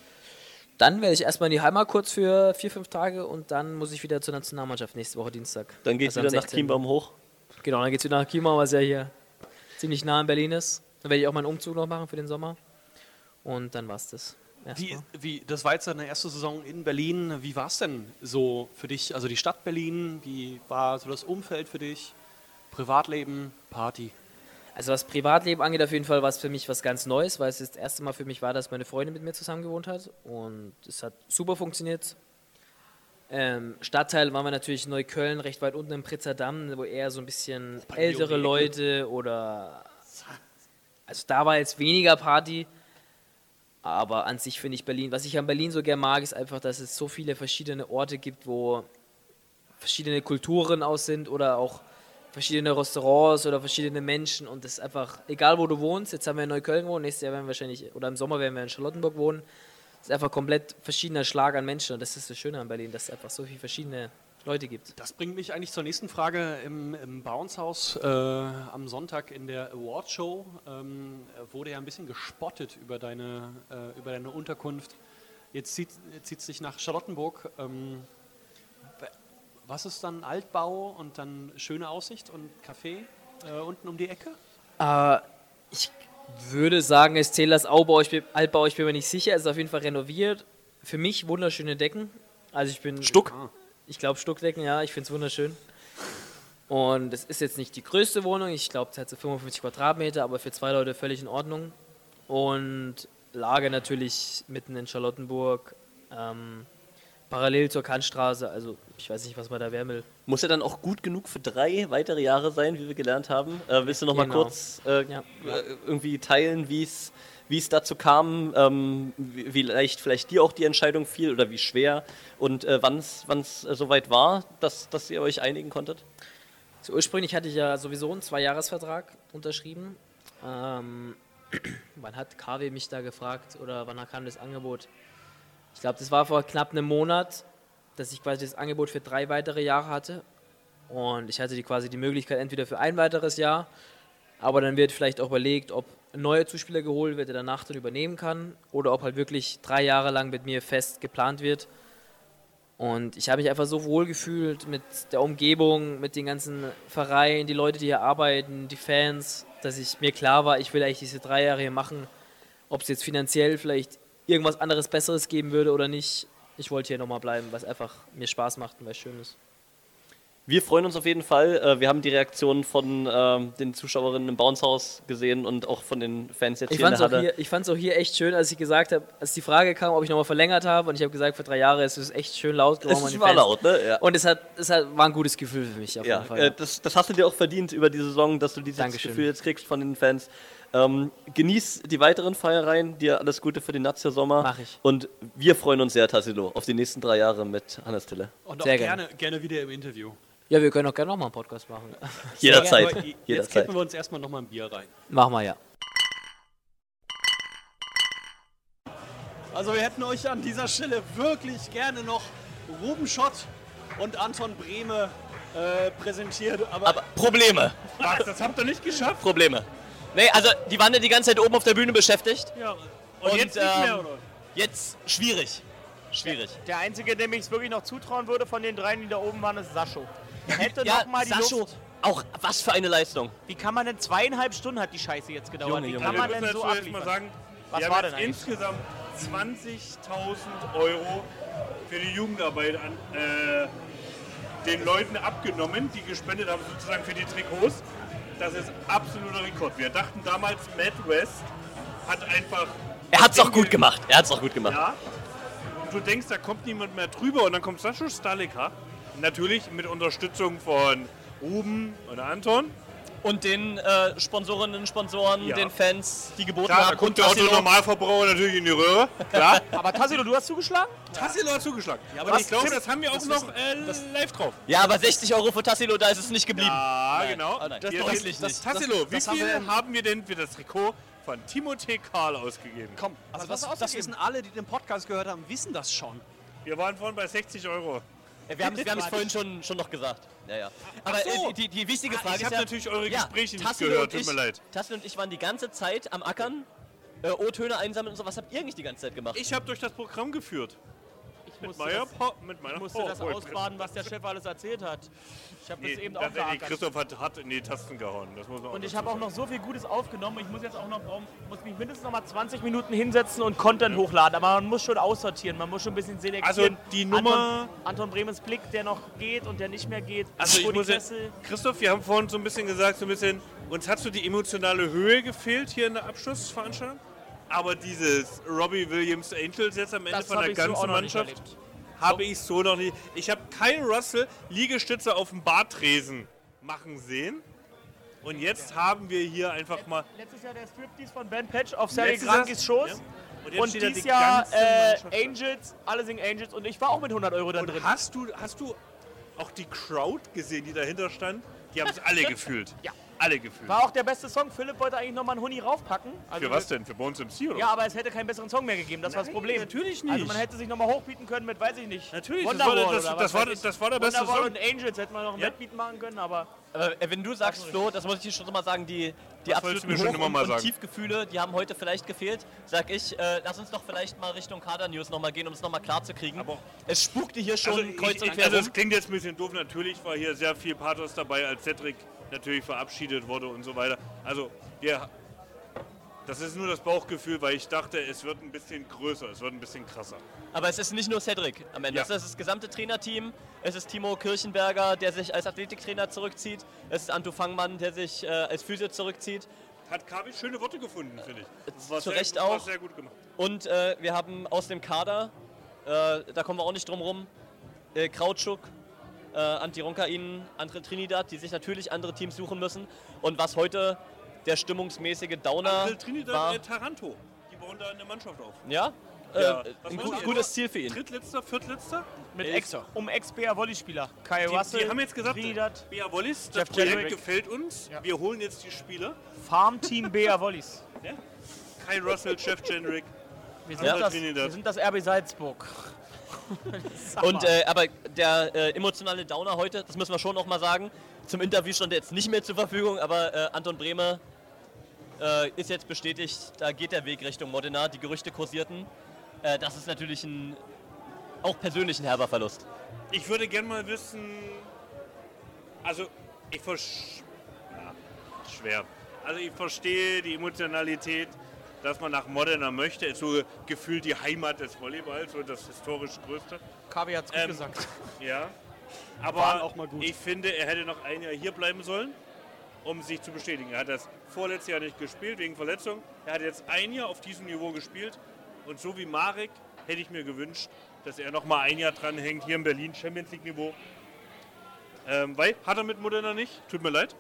Dann werde ich erstmal in die Heimat kurz für vier, fünf Tage und dann muss ich wieder zur Nationalmannschaft nächste Woche Dienstag. Dann geht's Also am wieder nach sechzehnten Chiembaum hoch? Genau, dann geht's wieder nach Chiembaum, was ja hier ziemlich nah in Berlin ist. Dann werde ich auch meinen Umzug noch machen für den Sommer. Und dann war's das. Wie, wie, das war jetzt deine erste Saison in Berlin. Wie war es denn so für dich? Also die Stadt Berlin, wie war so das Umfeld für dich? Privatleben, Party? Also was Privatleben angeht, auf jeden Fall war es für mich was ganz Neues, weil es das erste Mal für mich war, dass meine Freundin mit mir zusammen gewohnt hat. Und es hat super funktioniert. Ähm, Stadtteil waren wir natürlich in Neukölln, recht weit unten im Pritzerdamm, wo eher so ein bisschen ältere Leute oder... Also da war jetzt weniger Party. Aber an sich finde ich Berlin, was ich an Berlin so gern mag, ist einfach, dass es so viele verschiedene Orte gibt, wo verschiedene Kulturen aus sind oder auch verschiedene Restaurants oder verschiedene Menschen und das ist einfach, egal wo du wohnst, jetzt haben wir in Neukölln wohnen, nächstes Jahr werden wir wahrscheinlich, oder im Sommer werden wir in Charlottenburg wohnen, es ist einfach komplett verschiedener Schlag an Menschen und das ist das Schöne an Berlin, dass es einfach so viele verschiedene Leute gibt. Das bringt mich eigentlich zur nächsten Frage. Im, im Bounce-Haus äh, am Sonntag in der Awardshow ähm, wurde ja ein bisschen gespottet über deine, äh, über deine Unterkunft. Jetzt zieht es dich nach Charlottenburg. Ähm, was ist dann Altbau und dann schöne Aussicht und Café äh, unten um die Ecke? Äh, ich würde sagen, es zählt das Altbau, ich bin, Altbau, ich bin mir nicht sicher, es ist auf jeden Fall renoviert. Für mich wunderschöne Decken. Also ich bin... Stuck? Ich glaube Stuckdecken, ja, ich finde es wunderschön. Und es ist jetzt nicht die größte Wohnung, ich glaube, es hat so fünfundfünfzig Quadratmeter, aber für zwei Leute völlig in Ordnung. Und Lage natürlich mitten in Charlottenburg, ähm, parallel zur Kantstraße, also ich weiß nicht, was man da wären will. Muss ja dann auch gut genug für drei weitere Jahre sein, wie wir gelernt haben. Äh, willst du noch mal Genau. kurz äh, Ja. äh, irgendwie teilen, wie es wie es dazu kam, ähm, wie, wie leicht vielleicht dir auch die Entscheidung fiel oder wie schwer und äh, wann es äh, soweit war, dass, dass ihr euch einigen konntet? So, ursprünglich hatte ich ja sowieso einen Zwei-Jahres-Vertrag unterschrieben. Ähm, wann hat K W mich da gefragt oder wann kam das Angebot? Ich glaube, das war vor knapp einem Monat, dass ich quasi das Angebot für drei weitere Jahre hatte. Und ich hatte die quasi die Möglichkeit entweder für ein weiteres Jahr, aber dann wird vielleicht auch überlegt, ob ein neuer Zuspieler geholt wird, der danach dann übernehmen kann, oder ob halt wirklich drei Jahre lang mit mir fest geplant wird. Und ich habe mich einfach so wohl gefühlt mit der Umgebung, mit den ganzen Vereinen, die Leute, die hier arbeiten, die Fans, dass ich mir klar war, ich will eigentlich diese drei Jahre hier machen, ob es jetzt finanziell vielleicht irgendwas anderes Besseres geben würde oder nicht. Ich wollte hier nochmal bleiben, weil es einfach mir Spaß macht und weil es schön ist. Wir freuen uns auf jeden Fall. Äh, wir haben die Reaktionen von ähm, den Zuschauerinnen im Bounce-Haus gesehen und auch von den Fans jetzt Ich hier in fand's der auch Halle. hier, ich fand es auch hier echt schön, als ich gesagt habe, als die Frage kam, ob ich nochmal verlängert habe, und ich habe gesagt, für drei Jahre ist es echt schön laut geworden. Es war laut, ne? Ja. Und es, hat, es hat, war ein gutes Gefühl für mich auf Ja, jeden Fall. äh, das, das hast du dir auch verdient über die Saison, dass du dieses Dankeschön. Gefühl jetzt kriegst von den Fans. Ähm, genieß die weiteren Feiereien, dir alles Gute für den Nazio-Sommer. Mach ich. Und wir freuen uns sehr, Tassilo, auf die nächsten drei Jahre mit Hannes Tille. Und auch Sehr gerne, gerne wieder im Interview. Ja, wir können auch gerne nochmal einen Podcast machen. Jederzeit. Aber Jetzt Jederzeit. kippen wir uns erstmal nochmal ein Bier rein. Machen wir ja. Also wir hätten euch an dieser Stelle wirklich gerne noch Ruben Schott und Anton Brehme äh, präsentiert. Aber, Aber Probleme. Was, das habt ihr nicht geschafft? Probleme. Nee, also die waren ja die ganze Zeit oben auf der Bühne beschäftigt. Ja. Und, jetzt nicht mehr, oder? Jetzt schwierig. Schwierig. Der Einzige, dem ich es wirklich noch zutrauen würde von den dreien, die da oben waren, ist Sascho. Er hätte Ja, noch mal die Sascho, Luft. auch was für eine Leistung. Wie kann man denn zweieinhalb Stunden hat die Scheiße jetzt gedauert? Junge, Wie Junge. kann Wir man müssen denn so dazu erst mal abliefern? sagen, Was wir war haben denn jetzt eigentlich? insgesamt zwanzigtausend Euro für die Jugendarbeit an äh, den Leuten abgenommen, die gespendet haben, sozusagen für die Trikots. Das ist absoluter Rekord. Wir dachten damals, Matt West hat einfach... Er hat's auch gut gemacht. Er hat's auch gut gemacht. Ja. Und du denkst, da kommt niemand mehr drüber und dann kommt Sascho Stalika. Natürlich mit Unterstützung von Ruben und Anton. Und den äh, Sponsorinnen und Sponsoren, Ja. den Fans, die geboten Klar, da haben. kommt der Otto-Normalverbraucher natürlich in die Röhre. Klar. Aber Tassilo, du hast zugeschlagen? Tassilo hat zugeschlagen. Ja, aber Was? ich glaube, Tim, das haben wir auch das noch wissen- äh, live drauf. Ja, aber sechzig Euro für Tassilo, da ist es nicht geblieben. Ja, Nein. genau. Ah, nein. Das, Das das, wirklich das, nicht. Tassilo, Das- wie das haben viel wir- haben wir denn für das Trikot von Timothée Karl ausgegeben? komm, also Was das, hast du das ausgegeben? wissen alle, die den Podcast gehört haben, wissen das schon. Wir waren vorhin bei sechzig Euro. Äh, Wir haben es wir haben's vorhin schon, schon noch gesagt. Ja, ja. Aber Ach so. äh, die, die wichtige Ah, Frage ich ist hab ja... natürlich eure ja, Gespräche nicht Tassilo gehört, und tut mir ich- leid. Tassilo und ich waren die ganze Zeit am Ackern, äh, O-Töne einsammeln und so. Was habt ihr eigentlich die ganze Zeit gemacht? Ich habe durch das Programm geführt. Ich Mit musste, meiner, das, Pa- mit meiner ich musste das PowerPoint. ausbaden, was der Chef alles erzählt hat. Ich habe Nee, das eben das, auch nee, geackert. Christoph hat, hat in die Tasten gehauen. Das muss man Und ich dazu habe auch sagen. noch so viel Gutes aufgenommen. Ich muss jetzt auch noch muss mich mindestens noch mal zwanzig Minuten hinsetzen und Content hochladen. Aber man muss schon aussortieren, man muss schon ein bisschen selektieren. Also die Nummer- Anton, Anton Brehmens Blick, der noch geht und der nicht mehr geht. Also ich Rudi muss jetzt, Kessel. Christoph, wir haben vorhin so ein bisschen gesagt, so ein bisschen, uns hat so die emotionale Höhe gefehlt hier in der Abschlussveranstaltung. Aber dieses Robbie Williams Angels jetzt am Ende Das von hab der ich so auch ganzen noch nicht Mannschaft erlebt. habe ich so noch nicht. Ich habe keinen Russell Liegestütze auf dem Bartresen machen sehen. Und jetzt haben wir hier einfach mal. Letztes Jahr der Striptease von Ben Patch auf Sergei Letztes Jahr- Grankis Schoß. Ja. Und Und, jetzt steht da dieses die Jahr ganze äh, Mannschaft da. Angels, alle singen Angels und ich war auch mit hundert Euro da Und drin. hast du, hast du auch die Crowd gesehen, die dahinter stand? Die haben es alle gefühlt. Ja. Alle gefühlt. War auch der beste Song. Philipp wollte eigentlich nochmal einen Huni raufpacken. Also Für was denn? Für Bones M C oder? Ja, aber es hätte keinen besseren Song mehr gegeben, das war das Nein, Problem. natürlich nicht. Also man hätte sich nochmal hochbieten können mit, weiß ich nicht. Natürlich, das Wonderwall war- das- oder das was war- weiß ich. das war der beste Wonderwall Song. und Angels hätten wir noch einen Ja. Wettbeat machen können, aber... Aber äh, wenn du sagst, Flo, das muss ich dir schon mal sagen, die, die Das wolltest absoluten du mir schon Hoch- immer mal und, und sagen. Tiefgefühle, die haben heute vielleicht gefehlt. Sag ich, äh, lass uns doch vielleicht mal Richtung Kader-News nochmal gehen, um es nochmal klar zu kriegen. Aber es spukte hier schon Also, kreuz ich, und ich, quer also rum. es klingt jetzt ein bisschen doof, natürlich war hier sehr viel Pathos dabei, als Cedric natürlich verabschiedet wurde und so weiter. Also wir, das ist nur das Bauchgefühl, weil ich dachte, es wird ein bisschen größer, es wird ein bisschen krasser. Aber es ist nicht nur Cedric am Ende. Ja. Es ist das gesamte Trainerteam. Es ist Timo Kirchenberger, der sich als Athletiktrainer zurückzieht. Es ist Anto Fangmann, der sich äh, als Physio zurückzieht. Hat Kavi schöne Worte gefunden, finde ich. Das war Zu sehr Recht gut, war auch. sehr gut gemacht. Und äh, wir haben aus dem Kader, äh, da kommen wir auch nicht drum rum, äh, Krautschuk, äh, Antironkain, andere Trinidad, die sich natürlich andere Teams suchen müssen. Und was heute der stimmungsmäßige Downer April Trinidad, war, äh, Taranto, die bauen da in der Mannschaft auf. ja, Ja. Äh, Was ein meinst gut, du? gutes Ziel für ihn. Drittletzter, viertletzter? Mit Äh, Ex, um Ex-B A Volley-Spieler. Kai Die, Russell, die haben jetzt gesagt, Trinidad, B A Wallis, das Jeff Projekt Jedrick. gefällt uns, wir holen jetzt die Spieler. Farmteam B A Volleys. Ja? Kai Russell, Jeff Jendrick, Wir sind, Ja. das, Trinidad. wir sind das R B Salzburg. Sag Und mal. äh, aber der äh, emotionale Downer heute, das müssen wir schon noch mal sagen, zum Interview stand er jetzt nicht mehr zur Verfügung, aber äh, Anton Brehme äh, ist jetzt bestätigt, da geht der Weg Richtung Modena, die Gerüchte kursierten. Äh, das ist natürlich ein auch persönlich ein herber Verlust. Ich würde gerne mal wissen, also ich verstehe, ja, schwer. Also ich verstehe die Emotionalität, dass man nach Modena möchte, ist so gefühlt die Heimat des Volleyballs und das historisch Größte. Kavi hat's gut Ähm, gesagt. Ja. Aber waren auch mal gut. ich finde, er hätte noch ein Jahr hier bleiben sollen, um sich zu bestätigen. Er hat das vorletztes Jahr nicht gespielt, wegen Verletzung. Er hat jetzt ein Jahr auf diesem Niveau gespielt. Und so wie Marek hätte ich mir gewünscht, dass er noch mal ein Jahr dranhängt, hier in Berlin, Champions League-Niveau. Ähm, weil, hat er mit Modena nicht? Tut mir leid.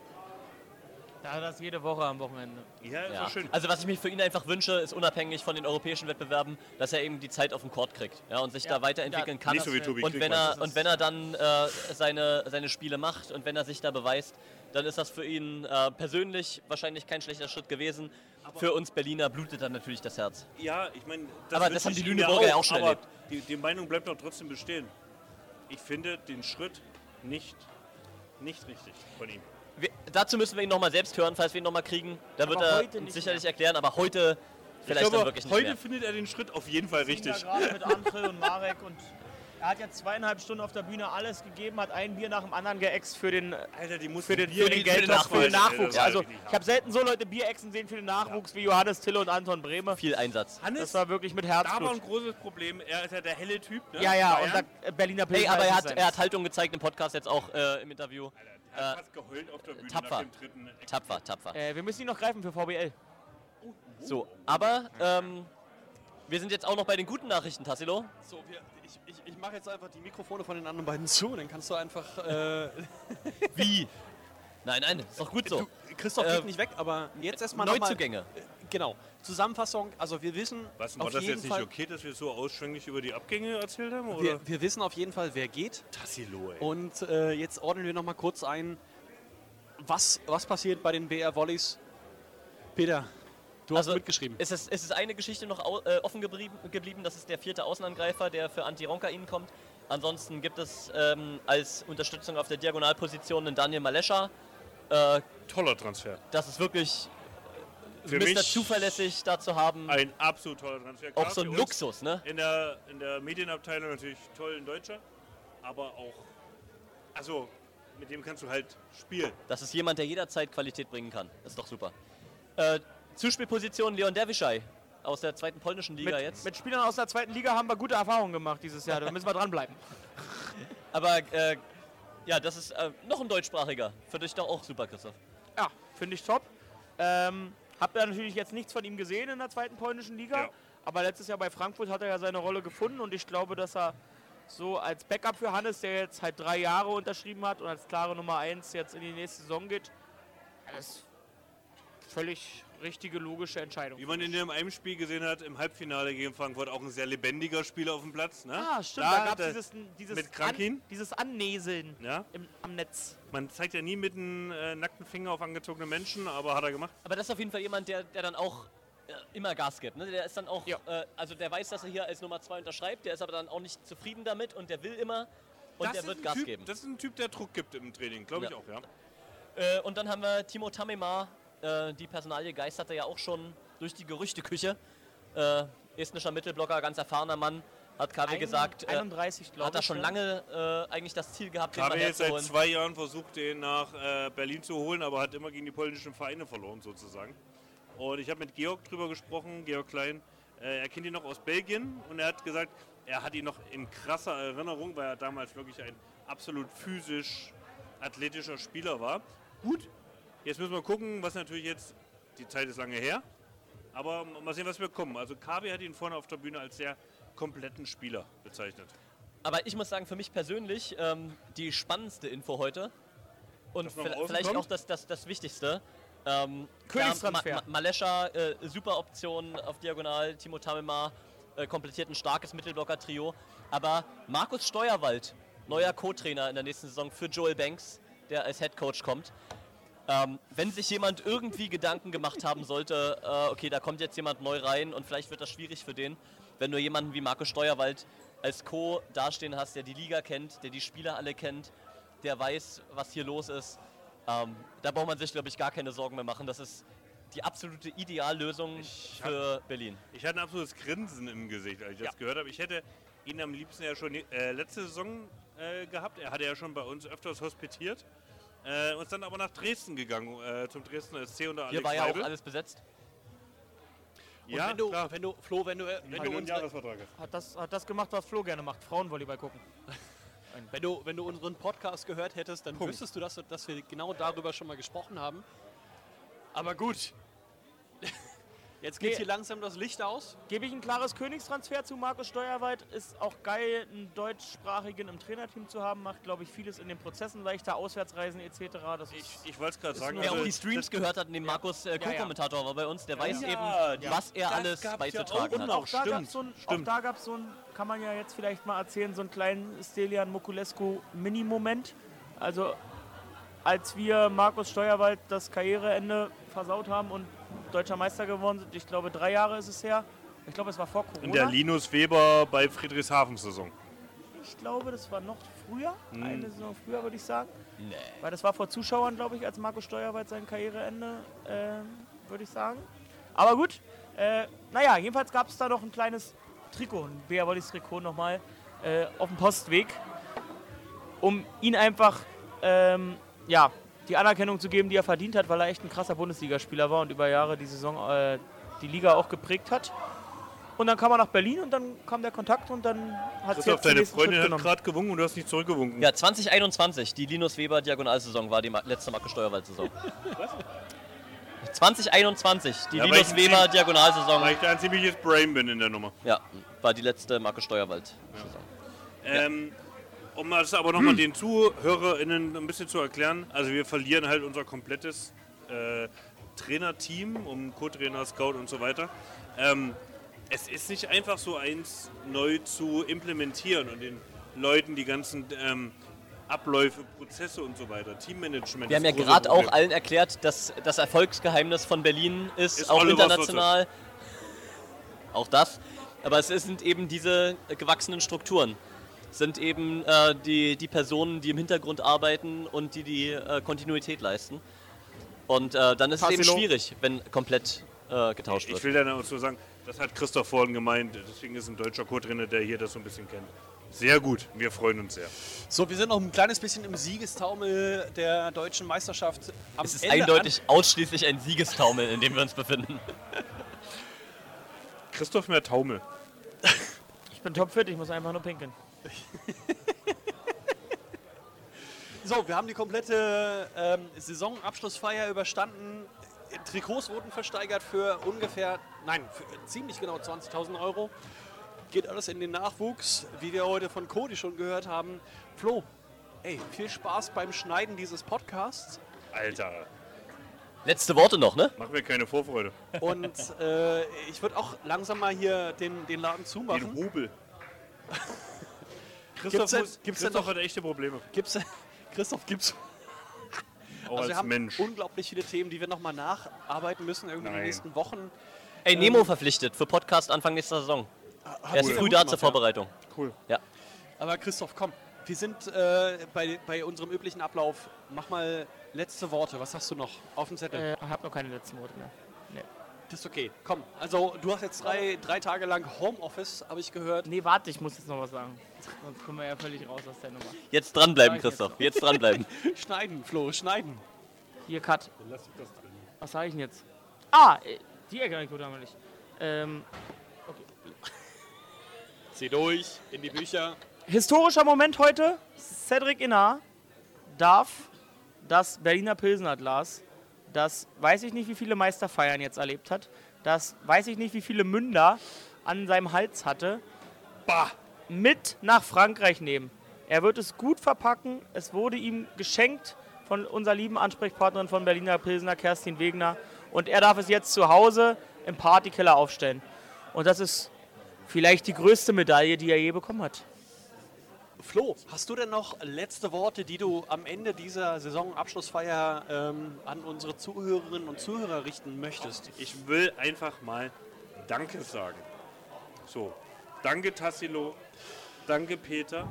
Da hat er das jede Woche am Wochenende. Ja, ist Ja. doch schön. Also was ich mir für ihn einfach wünsche, ist unabhängig von den europäischen Wettbewerben, dass er eben die Zeit auf dem Court kriegt, ja, und sich Ja. da weiterentwickeln Ja. kann. Nicht so wie Tobi und Krieg, wenn meinst er du? und wenn er dann äh, seine, seine Spiele macht und wenn er sich da beweist, dann ist das für ihn äh, persönlich wahrscheinlich kein schlechter Schritt gewesen. Für uns Berliner blutet dann natürlich das Herz. Ja, ich meine, Aber wünsche das haben ich die ihm Lüneburger ja auch schon aber erlebt. Die, die Meinung bleibt doch trotzdem bestehen. Ich finde den Schritt nicht, nicht richtig von ihm. Wir, dazu müssen wir ihn nochmal selbst hören, falls wir ihn nochmal kriegen. Da wird Aber er heute uns nicht sicherlich mehr. erklären, aber heute Ich vielleicht glaube, dann wirklich nicht heute mehr. findet er den Schritt auf jeden Fall Wir sind richtig. da gerade mit André und Marek und er hat jetzt zweieinhalb Stunden auf der Bühne alles gegeben, hat ein Bier nach dem anderen geäxt für den, Alter, die muss für den, Bier für den für den Geldtopf, für den Nachwuchs. Nachwuchs. Ja, Also richtig ich habe selten so Leute Bier exen sehen für den Nachwuchs wie Johannes Tille und Anton Brehme. Viel Einsatz. Hannes, Das war wirklich mit da war ein Herzblut. großes Problem. Er ist ja der helle Typ. Ne? Ja, ja, Bayern. und da, äh, Berliner Hey, Pilsner aber er ist hat, es er hat Haltung gezeigt im Podcast jetzt auch äh, im Interview. Er hat Äh, fast geheult auf der Bühne tapfer. nach dem dritten Eck. Tapfer, tapfer. äh, wir müssen ihn noch greifen für V B L. So, aber ähm, wir sind jetzt auch noch bei den guten Nachrichten, Tassilo. So, wir, ich, ich, ich mache jetzt einfach die Mikrofone von den anderen beiden zu, dann kannst du einfach. Äh, Wie? Nein, nein, ist doch gut so. Du, Christoph Äh, geht nicht weg, aber jetzt erstmal nochmal. Neuzugänge. Genau. Zusammenfassung, also wir wissen Was, war auf das jeden jetzt nicht Fall, okay, dass wir so ausschwänglich über die Abgänge erzählt haben? Oder? wir, wir wissen auf jeden Fall, wer geht. Tassilo, ey. Und äh, jetzt ordnen wir nochmal kurz ein, was, was passiert bei den B R Volleys. Peter, du hast Also, mitgeschrieben. Es ist, es ist eine Geschichte noch au, äh, offen geblieben, geblieben, das ist der vierte Außenangreifer, der für Antti Ronkainen kommt. Ansonsten gibt es ähm, als Unterstützung auf der Diagonalposition einen Daniel Malescha. Äh, Toller Transfer. das ist wirklich Für Mister mich Zuverlässig da zu haben. Ein absolut toller Transfer. Auch Klar, so ein für uns Luxus, ne? In der, in der Medienabteilung natürlich toll ein Deutscher, aber auch, also mit dem kannst du halt spielen. Das ist jemand, der jederzeit Qualität bringen kann. Das ist doch super. Äh, Zuspielposition Leon Dervischaj aus der zweiten polnischen Liga Mit, jetzt. mit Spielern aus der zweiten Liga haben wir gute Erfahrungen gemacht dieses Jahr, da müssen wir dranbleiben. Aber äh, ja, das ist äh, noch ein deutschsprachiger. Für dich doch auch super, Christoph. Ja, finde ich top. Ähm, hab ja natürlich jetzt nichts von ihm gesehen in der zweiten polnischen Liga, Ja. aber letztes Jahr bei Frankfurt hat er ja seine Rolle gefunden und ich glaube, dass er so als Backup für Hannes, der jetzt halt drei Jahre unterschrieben hat und als klare Nummer eins jetzt in die nächste Saison geht, das ist völlig richtige, logische Entscheidung. Wie man in dem einem Spiel gesehen hat, im Halbfinale gegen Frankfurt, auch ein sehr lebendiger Spieler auf dem Platz. Ne? Ah, stimmt, Da da, hat gab es er dieses, dieses, mit Krankin. An, dieses Annäseln Ja? im, am Netz. Man zeigt ja nie mit einem äh, nackten Finger auf angezogene Menschen, aber hat er gemacht. Aber das ist auf jeden Fall jemand, der, der dann auch äh, immer Gas gibt. Ne? Der ist dann auch, äh, also der weiß, dass er hier als Nummer zwei unterschreibt, der ist aber dann auch nicht zufrieden damit und der will immer und Das der ist wird ein Gas typ, geben. Das ist ein Typ, der Druck gibt im Training, glaube ich Ja. auch, ja. Äh, und dann haben wir Timo Tamemar, äh, die Personalie geisterte ja auch schon durch die Gerüchteküche. Äh, estnischer Mittelblocker, ganz erfahrener Mann, hat K W Ein- gesagt, äh, einunddreißig, glaub hat er ich, schon ne? lange äh, eigentlich das Ziel gehabt, den Habe mal jetzt seit herzuholen. zwei Jahren versucht, den nach äh, Berlin zu holen, aber hat immer gegen die polnischen Vereine verloren, sozusagen. Und ich habe mit Georg drüber gesprochen, Georg Klein. Äh, er kennt ihn noch aus Belgien und er hat gesagt, er hat ihn noch in krasser Erinnerung, weil er damals wirklich ein absolut physisch athletischer Spieler war. Gut, jetzt müssen wir gucken, was natürlich jetzt, die Zeit ist lange her, aber mal sehen, was wir kommen. Also K W hat ihn vorne auf der Bühne als sehr kompletten Spieler bezeichnet. Aber ich muss sagen, für mich persönlich ähm, die spannendste Info heute und Dass noch vi- außen vielleicht kommt? auch das, das, das Wichtigste. Ähm, Königstransfer. ja, Ma Ma Malescha, äh, super Option auf Diagonal, Timo Tamemar äh, komplettiert ein starkes Mittelblocker-Trio. Aber Markus Steuerwald, neuer Co-Trainer in der nächsten Saison für Joel Banks, der als Headcoach kommt. Ähm, wenn sich jemand irgendwie Gedanken gemacht haben sollte, äh, okay, da kommt jetzt jemand neu rein und vielleicht wird das schwierig für den, wenn du jemanden wie Markus Steuerwald als Co. dastehen hast, der die Liga kennt, der die Spieler alle kennt, der weiß, was hier los ist, ähm, da braucht man sich, glaube ich, gar keine Sorgen mehr machen. Das ist die absolute Ideallösung für Berlin. Ich hatte ein absolutes Grinsen im Gesicht, als ich das gehört habe. Ich hätte ihn am liebsten ja schon äh, letzte Saison äh, gehabt. Er hatte ja schon bei uns öfters hospitiert. Äh, und ist dann aber nach Dresden gegangen, äh, zum Dresdner S C unter Alex Hier war ja auch Weibel. alles besetzt. Und Ja, wenn du, klar. wenn du, Flo, wenn du, wenn du Wenn du einen unsere, Jahresvertrag hast. Hat das, hat das gemacht, was Flo gerne macht, Frauenvolleyball gucken. Wenn du, wenn du unseren Podcast gehört hättest, dann Punkt. wüsstest du, dass, dass wir genau darüber schon mal gesprochen haben. Aber gut. Jetzt geht Nee. hier langsam das Licht aus. Gebe ich ein klares Königstransfer zu Markus Steuerweit. Ist auch geil, einen deutschsprachigen im Trainerteam zu haben. Macht, glaube ich, vieles in den Prozessen leichter, Auswärtsreisen et cetera. Das ist, Ich wollte es gerade sagen. Wer also auch die Streams gehört hat, neben Markus äh, Ja, ja. Co-Kommentator war bei uns, der Ja, weiß ja. eben, Ja, was er das alles gab's beizutragen ja hat. auch. Und auch da gab es so ein, auch da gab's so ein, kann man ja jetzt vielleicht mal erzählen, so einen kleinen Stelian Mokulescu Mini-Moment. Also als wir Markus Steuerwald das Karriereende versaut haben und deutscher Meister geworden sind, ich glaube drei Jahre ist es her. Ich glaube, es war vor Corona. In der Linus Weber bei Friedrichshafen-Saison. Ich glaube, das war noch früher, Hm. eine Saison früher, würde ich sagen. Nee. Weil das war vor Zuschauern, glaube ich, als Markus Steuerweit sein Karriereende, ähm, würde ich sagen. Aber gut, äh, naja, jedenfalls gab es da noch ein kleines Trikot, ein Bea Wollis Trikot nochmal äh, auf dem Postweg, um ihn einfach, ähm, ja, die Anerkennung zu geben, die er verdient hat, weil er echt ein krasser Bundesligaspieler war und über Jahre die Saison, äh, die Liga auch geprägt hat. Und dann kam er nach Berlin und dann kam der Kontakt und dann hat es Christoph, jetzt den deine nächsten Freundin Schritt hat genommen. gerade gewunken und du hast nicht zurückgewunken. Ja, zwanzig einundzwanzig, die Linus Weber Diagonalsaison war die ma- letzte Markus Steuerwald-Saison. zwanzig einundzwanzig, die Ja, weil Linus ich- Weber Diagonalsaison. Weil ich da ein ziemliches Brain bin in der Nummer. Ja, war die letzte Markus Steuerwald-Saison. Ähm, um das aber nochmal den ZuhörerInnen ein bisschen zu erklären, also wir verlieren halt unser komplettes äh, Trainerteam, um Co-Trainer, Scout und so weiter. Ähm, es ist nicht einfach so eins neu zu implementieren und den Leuten die ganzen ähm, Abläufe, Prozesse und so weiter, Teammanagement. Wir haben ja das große gerade auch Problem. allen erklärt, dass das Erfolgsgeheimnis von Berlin ist, Ist auch Oliver international. Auch das. Aber es sind eben diese gewachsenen Strukturen. Es sind eben äh, die, die Personen, die im Hintergrund arbeiten und die die äh, Kontinuität leisten. Und äh, dann ist es eben Tassilo. schwierig, wenn komplett äh, getauscht wird. Ich will dann auch so sagen, das hat Christoph vorhin gemeint, deswegen ist ein deutscher Co-Trainer, der hier das so ein bisschen kennt. Sehr gut, wir freuen uns sehr. So, wir sind noch ein kleines bisschen im Siegestaumel der deutschen Meisterschaft. Am Es ist Ende eindeutig ausschließlich ein Siegestaumel, in dem wir uns befinden. Christoph mehr Taumel. Ich bin topfit, ich muss einfach nur pinkeln. So, wir haben die komplette ähm, Saisonabschlussfeier überstanden. Trikots wurden versteigert für ungefähr, nein, für ziemlich genau zwanzigtausend Euro. Geht alles in den Nachwuchs, wie wir heute von Cody schon gehört haben. Flo, ey, viel Spaß beim Schneiden dieses Podcasts. Alter. Letzte Worte noch, ne? Mach mir keine Vorfreude. Und äh, ich würde auch langsam mal hier den, den Laden zumachen. Den Hobel. Christoph, Christoph, denn- muss, gibt's denn Christoph noch- hat echte Probleme. Gibt's, Christoph, gibt's. Auch Also wir als haben Mensch. unglaublich viele Themen, die wir nochmal nacharbeiten müssen, irgendwie in den Nein. nächsten Wochen. Ey, Ähm, Nemo verpflichtet für Podcast Anfang nächster Saison. hat Er ist sehr früh gut da gemacht, zur ja. Vorbereitung. Cool. Ja. Aber Christoph, komm, wir sind äh, bei, bei unserem üblichen Ablauf. Mach mal letzte Worte. Was hast du noch auf dem Zettel? Äh, ich habe noch keine letzten Worte mehr. Nee. Das ist okay. Komm, also du hast jetzt drei, drei Tage lang Homeoffice, habe ich gehört. Nee, warte, ich muss jetzt noch was sagen. Sonst kommen wir ja völlig raus aus der Nummer. Jetzt dranbleiben, Sag ich Christoph. noch. Jetzt dranbleiben. Schneiden, Flo, schneiden. Hier, Cut. Lass ich das drin. Was sage ich denn jetzt? Ah, äh, die Anekdote haben wir nicht. Ähm, okay. Zieh durch, in die Bücher. Historischer Moment heute. Cedric Innar darf das Berliner Pilsener Glas, das weiß ich nicht, wie viele Meisterfeiern jetzt erlebt hat, das weiß ich nicht, wie viele Münder an seinem Hals hatte, bah, mit nach Frankreich nehmen. Er wird es gut verpacken. Es wurde ihm geschenkt von unserer lieben Ansprechpartnerin von Berliner Pilsener, Kerstin Wegner. Und er darf es jetzt zu Hause im Partykeller aufstellen. Und das ist vielleicht die größte Medaille, die er je bekommen hat. Flo, hast du denn noch letzte Worte, die du am Ende dieser Saisonabschlussfeier ähm, an unsere Zuhörerinnen und Zuhörer richten möchtest? Ich will einfach mal Danke sagen. So, danke Tassilo, danke Peter.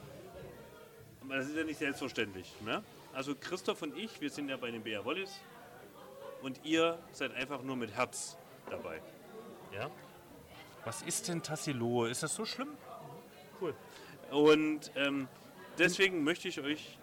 Aber das ist ja nicht selbstverständlich. Ne? Also Christoph und ich, wir sind ja bei den Bea Wollis und ihr seid einfach nur mit Herz dabei. Ja? Was ist denn Tassilo? Ist das so schlimm? Cool. Und ähm, deswegen möchte ich euch,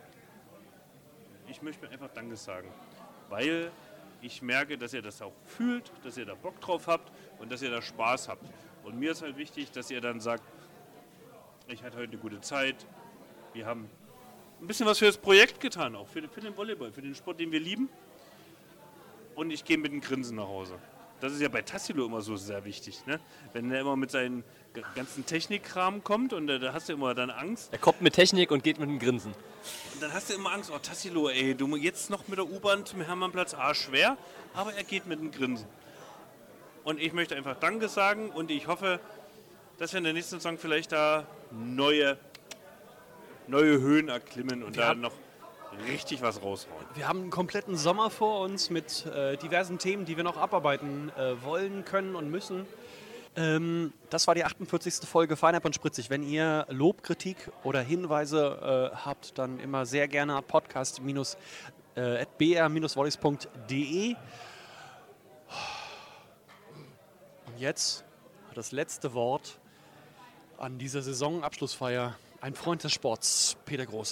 ich möchte mir einfach Danke sagen, weil ich merke, dass ihr das auch fühlt, dass ihr da Bock drauf habt und dass ihr da Spaß habt. Und mir ist halt wichtig, dass ihr dann sagt, ich hatte heute eine gute Zeit, wir haben ein bisschen was für das Projekt getan, auch für, für den Volleyball, für den Sport, den wir lieben. Und ich gehe mit einem Grinsen nach Hause. Das ist ja bei Tassilo immer so sehr wichtig, ne? Wenn er immer mit seinen ganzen Technikkram kommt und da hast du immer dann Angst. Er kommt mit Technik und geht mit einem Grinsen. Und dann hast du immer Angst, oh Tassilo, ey, du jetzt noch mit der U-Bahn zum Hermannplatz, ah, schwer, aber er geht mit einem Grinsen. Und ich möchte einfach Danke sagen und ich hoffe, dass wir in der nächsten Saison vielleicht da neue, neue Höhen erklimmen und Wir da haben- noch richtig was raushauen. Wir haben einen kompletten Sommer vor uns mit äh, diversen Themen, die wir noch abarbeiten äh, wollen, können und müssen. Ähm, das war die achtundvierzigste Folge Feinab und Spritzig. Wenn ihr Lob, Kritik oder Hinweise äh, habt, dann immer sehr gerne at podcast at b r volleys punkt d e. Und jetzt das letzte Wort an dieser Saisonabschlussfeier. Ein Freund des Sports, Peter Große.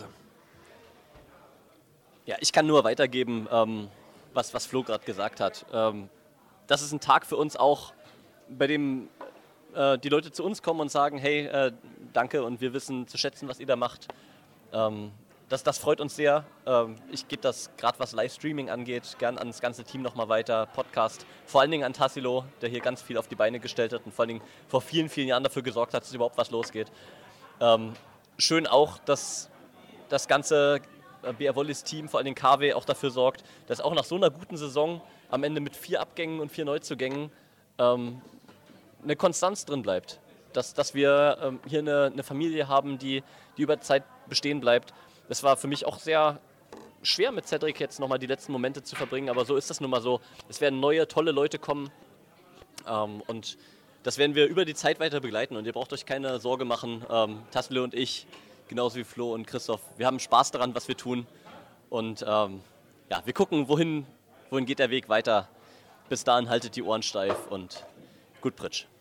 Ja, ich kann nur weitergeben, ähm, was, was Flo gerade gesagt hat. Ähm, das ist ein Tag für uns auch, bei dem äh, die Leute zu uns kommen und sagen, hey, äh, danke und wir wissen zu schätzen, was ihr da macht. Ähm, das, das freut uns sehr. Ähm, ich gebe das gerade, was Livestreaming angeht, gern ans ganze Team nochmal weiter, Podcast. Vor allen Dingen an Tassilo, der hier ganz viel auf die Beine gestellt hat und vor allen Dingen vor vielen, vielen Jahren dafür gesorgt hat, dass überhaupt was losgeht. Ähm, schön auch, dass das ganze B R Volleys Team, vor allem K W, auch dafür sorgt, dass auch nach so einer guten Saison am Ende mit vier Abgängen und vier Neuzugängen ähm, eine Konstanz drin bleibt. Dass, dass wir ähm, hier eine, eine Familie haben, die, die über Zeit bestehen bleibt. Das war für mich auch sehr schwer mit Cedric jetzt nochmal die letzten Momente zu verbringen, aber so ist das nun mal so. Es werden neue, tolle Leute kommen ähm, und das werden wir über die Zeit weiter begleiten und ihr braucht euch keine Sorge machen. Ähm, Tassilo und ich, genauso wie Flo und Christoph, wir haben Spaß daran, was wir tun und ähm, ja, wir gucken, wohin, wohin geht der Weg weiter. Bis dahin haltet die Ohren steif und gut Pritsch.